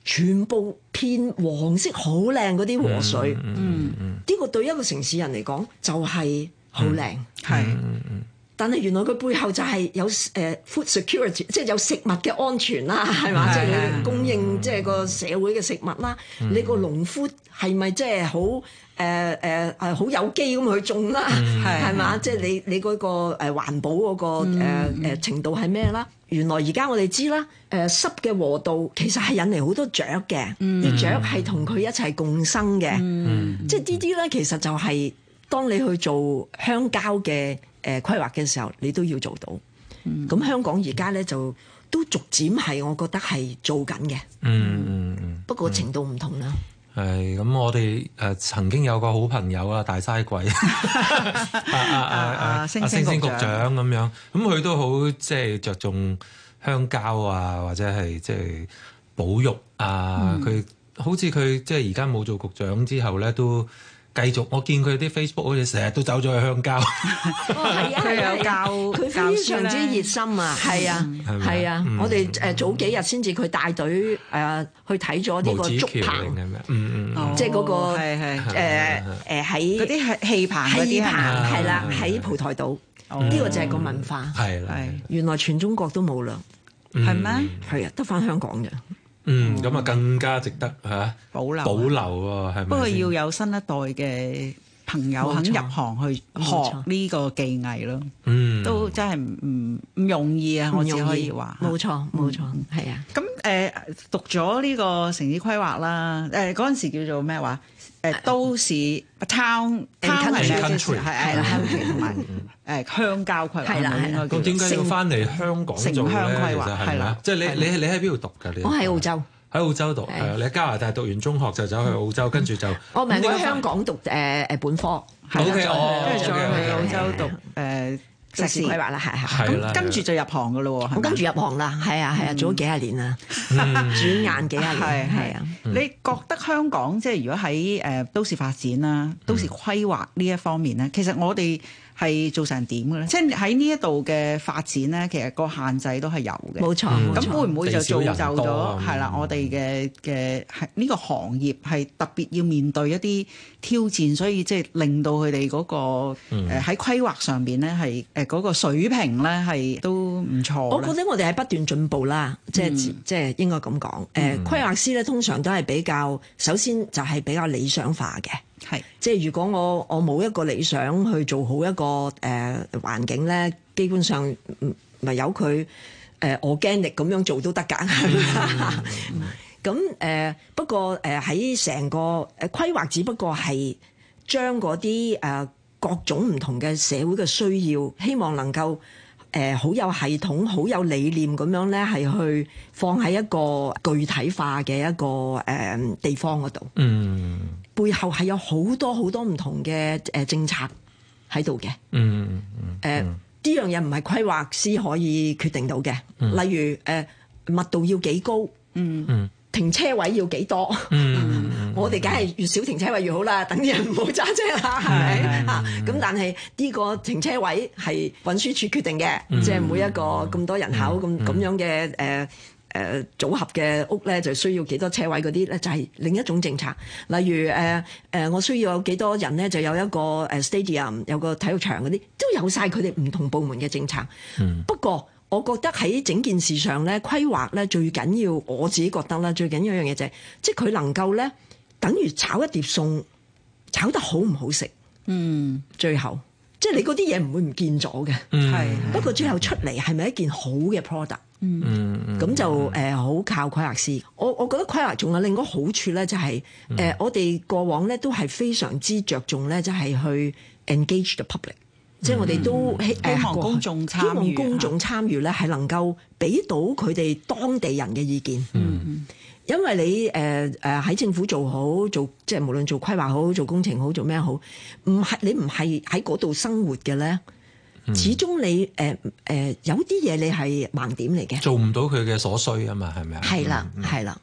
全部偏黃色好靚嗰啲河水，嗯，呢、嗯嗯呢個對一個城市人嚟講就係好靚，係、嗯。嗯但係原來佢背後就係有誒、uh, food security，即係有食物嘅安全啦，係嘛？即係你供應即係個社會嘅食物啦。嗯、你個農夫係咪即係好誒誒誒好有機咁去種啦？係嘛？即係你你嗰個誒環保嗰個誒誒程度係咩啦？原來而家我哋知啦，誒濕嘅河道其實係引嚟好多雀嘅，啲、嗯、雀係同佢一齊共生嘅。嗯、即係呢啲咧，其實就係當你去做鄉郊嘅誒規劃嘅時候，你都要做到。咁、嗯、香港而家咧就都逐漸係，我覺得係做緊嘅。嗯嗯嗯。不過程度唔同啦。 係咁，我哋誒曾經有個好朋友啊，大嘥鬼啊啊啊啊星星局長咁樣，咁佢都好即係着重鄉郊啊，或者係即係保育啊。佢、嗯、好似佢即係而家冇做局長之後咧，都繼續，我見佢啲 Facebook 好似成日都走咗去鄉郊。 哦，係啊，係啊，教佢非常之熱心啊，係啊，係啊，我哋誒早幾日先至佢帶隊誒去睇咗呢個竹棚，嗯嗯，即係嗰個係係誒誒喺嗰啲係氣棚，氣棚係啦，喺蒲台島，呢個就係個文化，係係原來全中國都冇啦，係咩？係啊，得返香港嘅。 嗯，咁啊更加值得嚇保留保留喎，係咪？不過要有新一代嘅朋友肯入行去學呢個技藝咯，嗯，都真係唔唔容易啊！我只可以話， 冇錯冇錯，係啊。 咁誒讀咗呢個城市規劃啦，誒嗰陣時叫做咩話？誒都市 town town 係係係啦，同埋誒鄉郊規劃係啦係啦。 咁點解要翻嚟香港做咧？係啦，即係你你你喺邊度讀㗎？你我喺澳洲， 喺澳洲讀係啊。你喺加拿大讀完中學就走去澳洲，跟住就我唔係我喺香港讀誒誒本科 ，O K 哦， 跟住再去澳洲讀誒。 城市規劃啦，係係咁跟住就入行噶咯喎， 我跟住入行啦，係啊係啊，做咗幾廿年啦，轉眼幾廿年，係係啊。 你覺得香港即係如果喺誒都市發展啦、都市規劃呢一方面咧，其實我哋係做成點嘅咧？即係喺呢一度嘅發展咧，其實個限制都係有嘅。 冇錯， 咁會唔會就造就咗係啦？我哋嘅嘅係呢個行業係特別要面對一啲挑戰，所以即係令到佢哋嗰個誒喺規劃上邊咧係誒嗰個水平咧係都唔錯。 我覺得我哋係不斷進步啦，即係即係應該咁講。誒規劃師咧通常都係比較首先就係比較理想化嘅。係，即係如果我我冇一個理想去做好一個誒、呃、環境咧，基本上咪由佢誒 organic 咁樣做都得㗎。咁誒、呃、不過誒喺成個誒規劃，只不過係將嗰啲誒各種唔同嘅社會嘅需要，希望能夠誒好有系統、好有理念咁樣咧，係去放喺一個具體化嘅一個誒、呃、地方嗰度。嗯。背後係有好多好多唔同嘅誒政策喺度嘅，嗯嗯，誒呢樣嘢唔係規劃師可以決定到嘅，嗯、例如誒、呃、密度要幾高，嗯嗯，停車位要幾多，嗯，我哋梗係越少停車位越好啦，等啲人唔好揸車啦，係咪啊？咁但係呢個停車位係運輸署決定嘅，嗯、即係每一個咁多人口咁咁、嗯、樣嘅誒。呃誒、呃、組合嘅屋咧，就需要幾多車位嗰啲咧，就係、是、另一種政策。例如誒誒、呃呃，我需要有幾多人咧，就有一個誒 stadium，有個體育場嗰啲，都有晒佢哋唔同部門嘅政策。嗯、不過，我覺得喺整件事上咧，規劃咧最緊要，我自己覺得啦，最緊要一樣嘢就係、是，即係佢能夠咧，等於炒一碟餸，炒得好唔好食？嗯，最後即係你嗰啲嘢唔會唔見咗嘅。係、嗯，不過最後出嚟係咪一件好嘅 product？嗯，咁就誒好、呃、靠規劃師。我我覺得規劃仲有另一個好處咧，就係、是、誒、嗯呃、我哋過往咧都係非常之着重咧，就係去 engage the public，、嗯、即係我哋都希望公眾參與，希望公眾參與咧係能夠俾到佢哋當地人嘅意見。嗯，因為你誒誒喺政府做好做，即係無論做規劃好、做工程好、做咩好，唔係你唔係喺嗰度生活嘅咧。始終你誒誒、呃呃、有啲嘢你係盲點嚟嘅， 做唔到佢嘅所需啊嘛，係咪啊？ 係啦，係啦、嗯，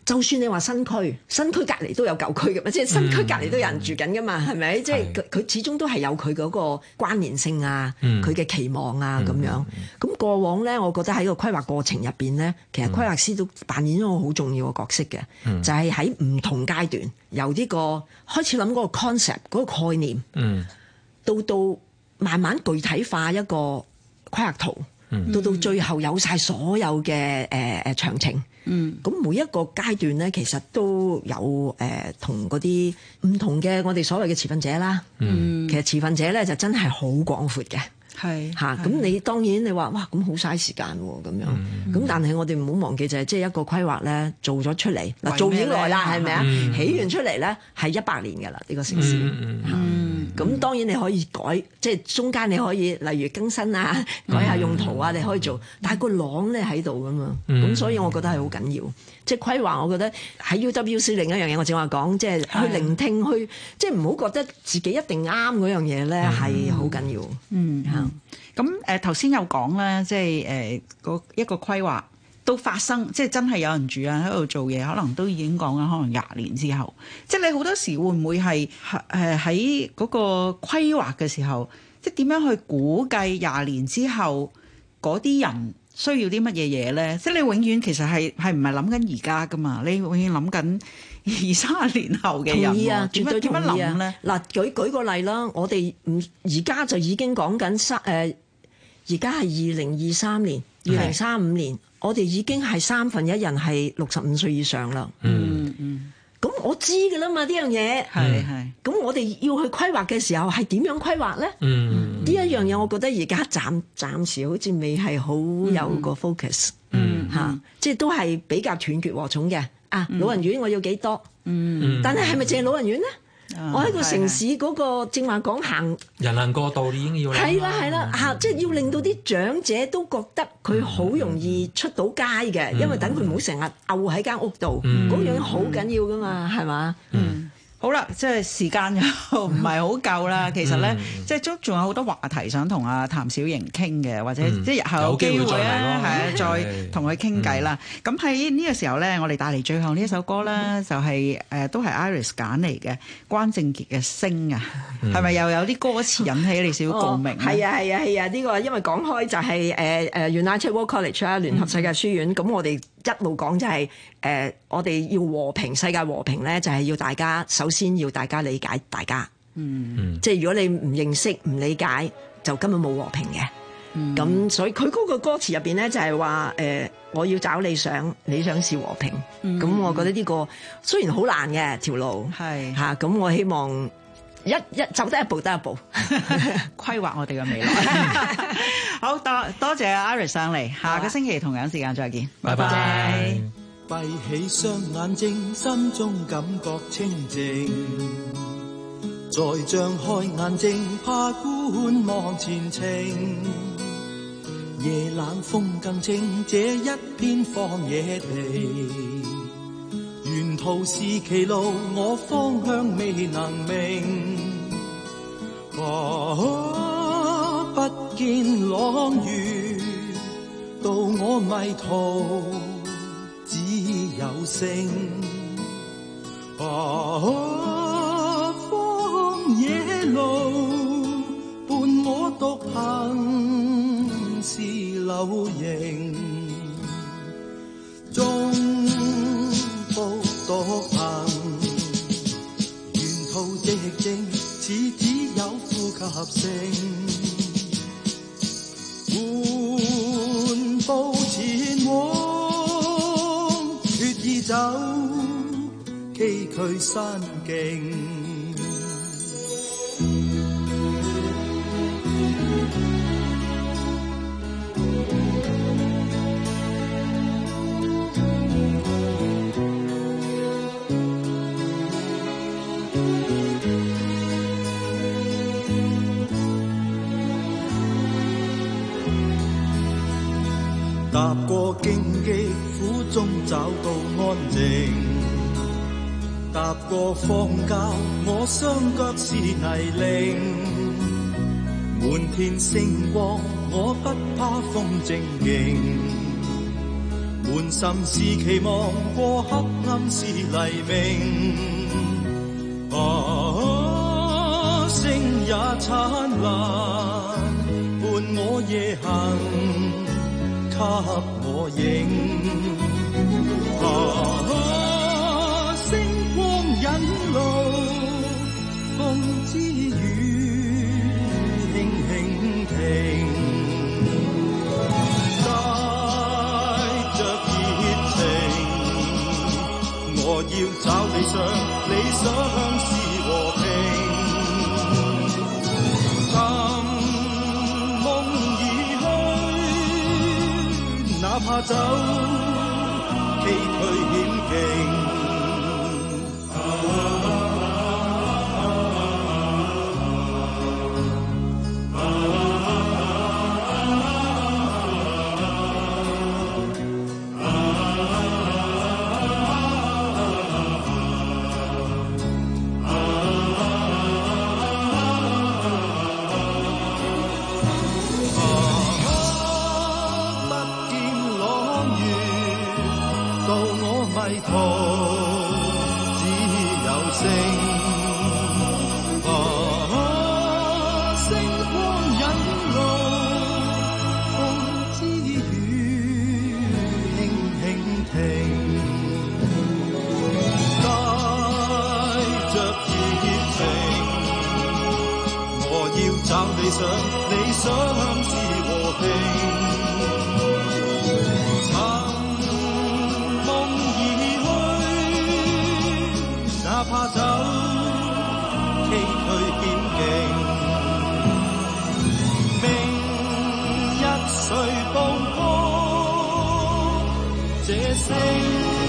就算你話新區，新區隔離都有舊區嘅嘛，即係新區隔離都有人住緊噶嘛，係咪？即係佢佢始終都係有佢嗰個關聯性啊，佢嘅、嗯、期望啊咁樣。咁、嗯、過往咧，我覺得喺個規劃過程入邊咧，其實規劃師都扮演咗個好重要嘅角色嘅，嗯、就係喺唔同階段，由呢個開始諗嗰個 concept 嗰個概念，嗯、到到慢慢具體化一個規劃圖，嗯、到到最後有晒所有嘅誒誒詳情。嗯，咁每一個階段咧，其實都有誒同嗰啲唔同嘅我哋所謂嘅持份者啦。嗯，其實持份者咧就真係好廣闊嘅。係嚇，咁你當然你話哇，咁好嘥時間喎咁樣。咁、嗯、但係我哋唔好忘記就係即係一個規劃咧做咗出嚟嗱，做幾耐啦，係咪啊？嗯、起完出嚟咧係一百年㗎啦，呢、呢個城市。嗯嗯，咁、嗯、當然你可以改，即係中間你可以例如更新啊，改下用途啊，你可以做。但係個廊咧喺度㗎嘛，咁、嗯、所以我覺得係好緊要。即係規劃，我覺得喺 U W C 另一樣嘢，我正話講，即係去聆聽，去即係唔好覺得自己一定啱嗰樣嘢咧，係好緊要。嗯， 咁誒頭先有講咧，即係誒個一個規劃到發生，即係真係有人住啊喺度做嘢，可能都已經講緊可能廿年之後。即係你好多時會唔會係誒喺嗰個規劃嘅時候，即係點樣去估計廿年之後嗰啲人需要啲乜嘢嘢咧？即係你永遠其實係係唔係諗緊而家噶嘛？你永遠諗緊二三十年後嘅人。 同意啊，絕對同意啊！ 咧嗱，舉舉個例啦，我哋唔而家就已經講緊三誒，而家係二零二三年、二零三五年，我哋已經係三分一人係六十五歲以上啦。嗯嗯。咁我知㗎啦嘛，呢樣嘢係係。咁我哋要去規劃嘅時候係點樣規劃咧？嗯，呢一樣嘢我覺得而家暫暫時好似未係好有個 focus。嗯，嚇、嗯，即係都係比較斷絕和重嘅。啊，老人院我要幾多？嗯，但係係咪淨係老人院咧？嗯、我喺個城市嗰個正話講行人行過道已經要係啦係啦嚇，即係要令到啲長者都覺得佢好容易出到街嘅，嗯、因為等佢唔好成日漚喺間屋度，嗰、嗯、樣好緊要噶嘛，係嘛？嗯。 好啦，即係時間又唔係好夠啦。其實咧，嗯、即係都仲有好多話題想同阿譚小瑩傾嘅，或者、嗯、即係日後有機會咧，係啊，再同佢傾偈啦。咁喺呢個時候咧，我哋帶嚟最後呢一首歌咧，嗯、就係、是、誒、呃、都係 Iris 揀嚟嘅關正傑嘅《星》啊，係咪、嗯、又有啲歌詞引起你少少共鳴？ 係啊係啊係啊！呢、這個因為講開就係誒誒 United World College 啦，聯合世界書院。咁、嗯、我哋一路講就係、是、誒、呃，我哋要和平，世界和平咧，就係要大家首先要大家理解大家。嗯，即係如果你唔認識、唔理解，就根本冇和平嘅。咁、嗯、所以佢嗰個歌詞入邊咧，就係話誒，我要找理想，理想是和平。咁、嗯、我覺得呢個雖然好難嘅條路，係嚇，咁我希望一一走得一步得一步， 規劃我哋嘅未來。好多多謝 Iris 上嚟，下個星期同樣時間再見，拜拜。 閉起雙眼睛，心中感覺清靜，再張開眼睛，怕觀望前程。夜冷風更清，這一片荒野地，沿途是歧路，我方向未能明。啊，不見朗月，到我迷途只有星。啊，荒野路伴我獨行是流螢，中步獨行，沿途寂靜，似只有呼吸聲。緩步前往，決意走崎嶇山徑。踏過荊棘，苦中找到安靜；踏過荒郊，我雙腳是泥濘。滿天星光，我不怕風正勁。 滿心是期望過黑暗是黎明，啊，星也燦爛，伴我夜行，給我影，啊，星光引路，風之雨輕輕停。我要找理想，理想是和平。尋夢而去，哪怕走崎嶇險徑。理想，理想是和平。尋夢而去，哪怕走崎嶇險徑。明日誰步過這星？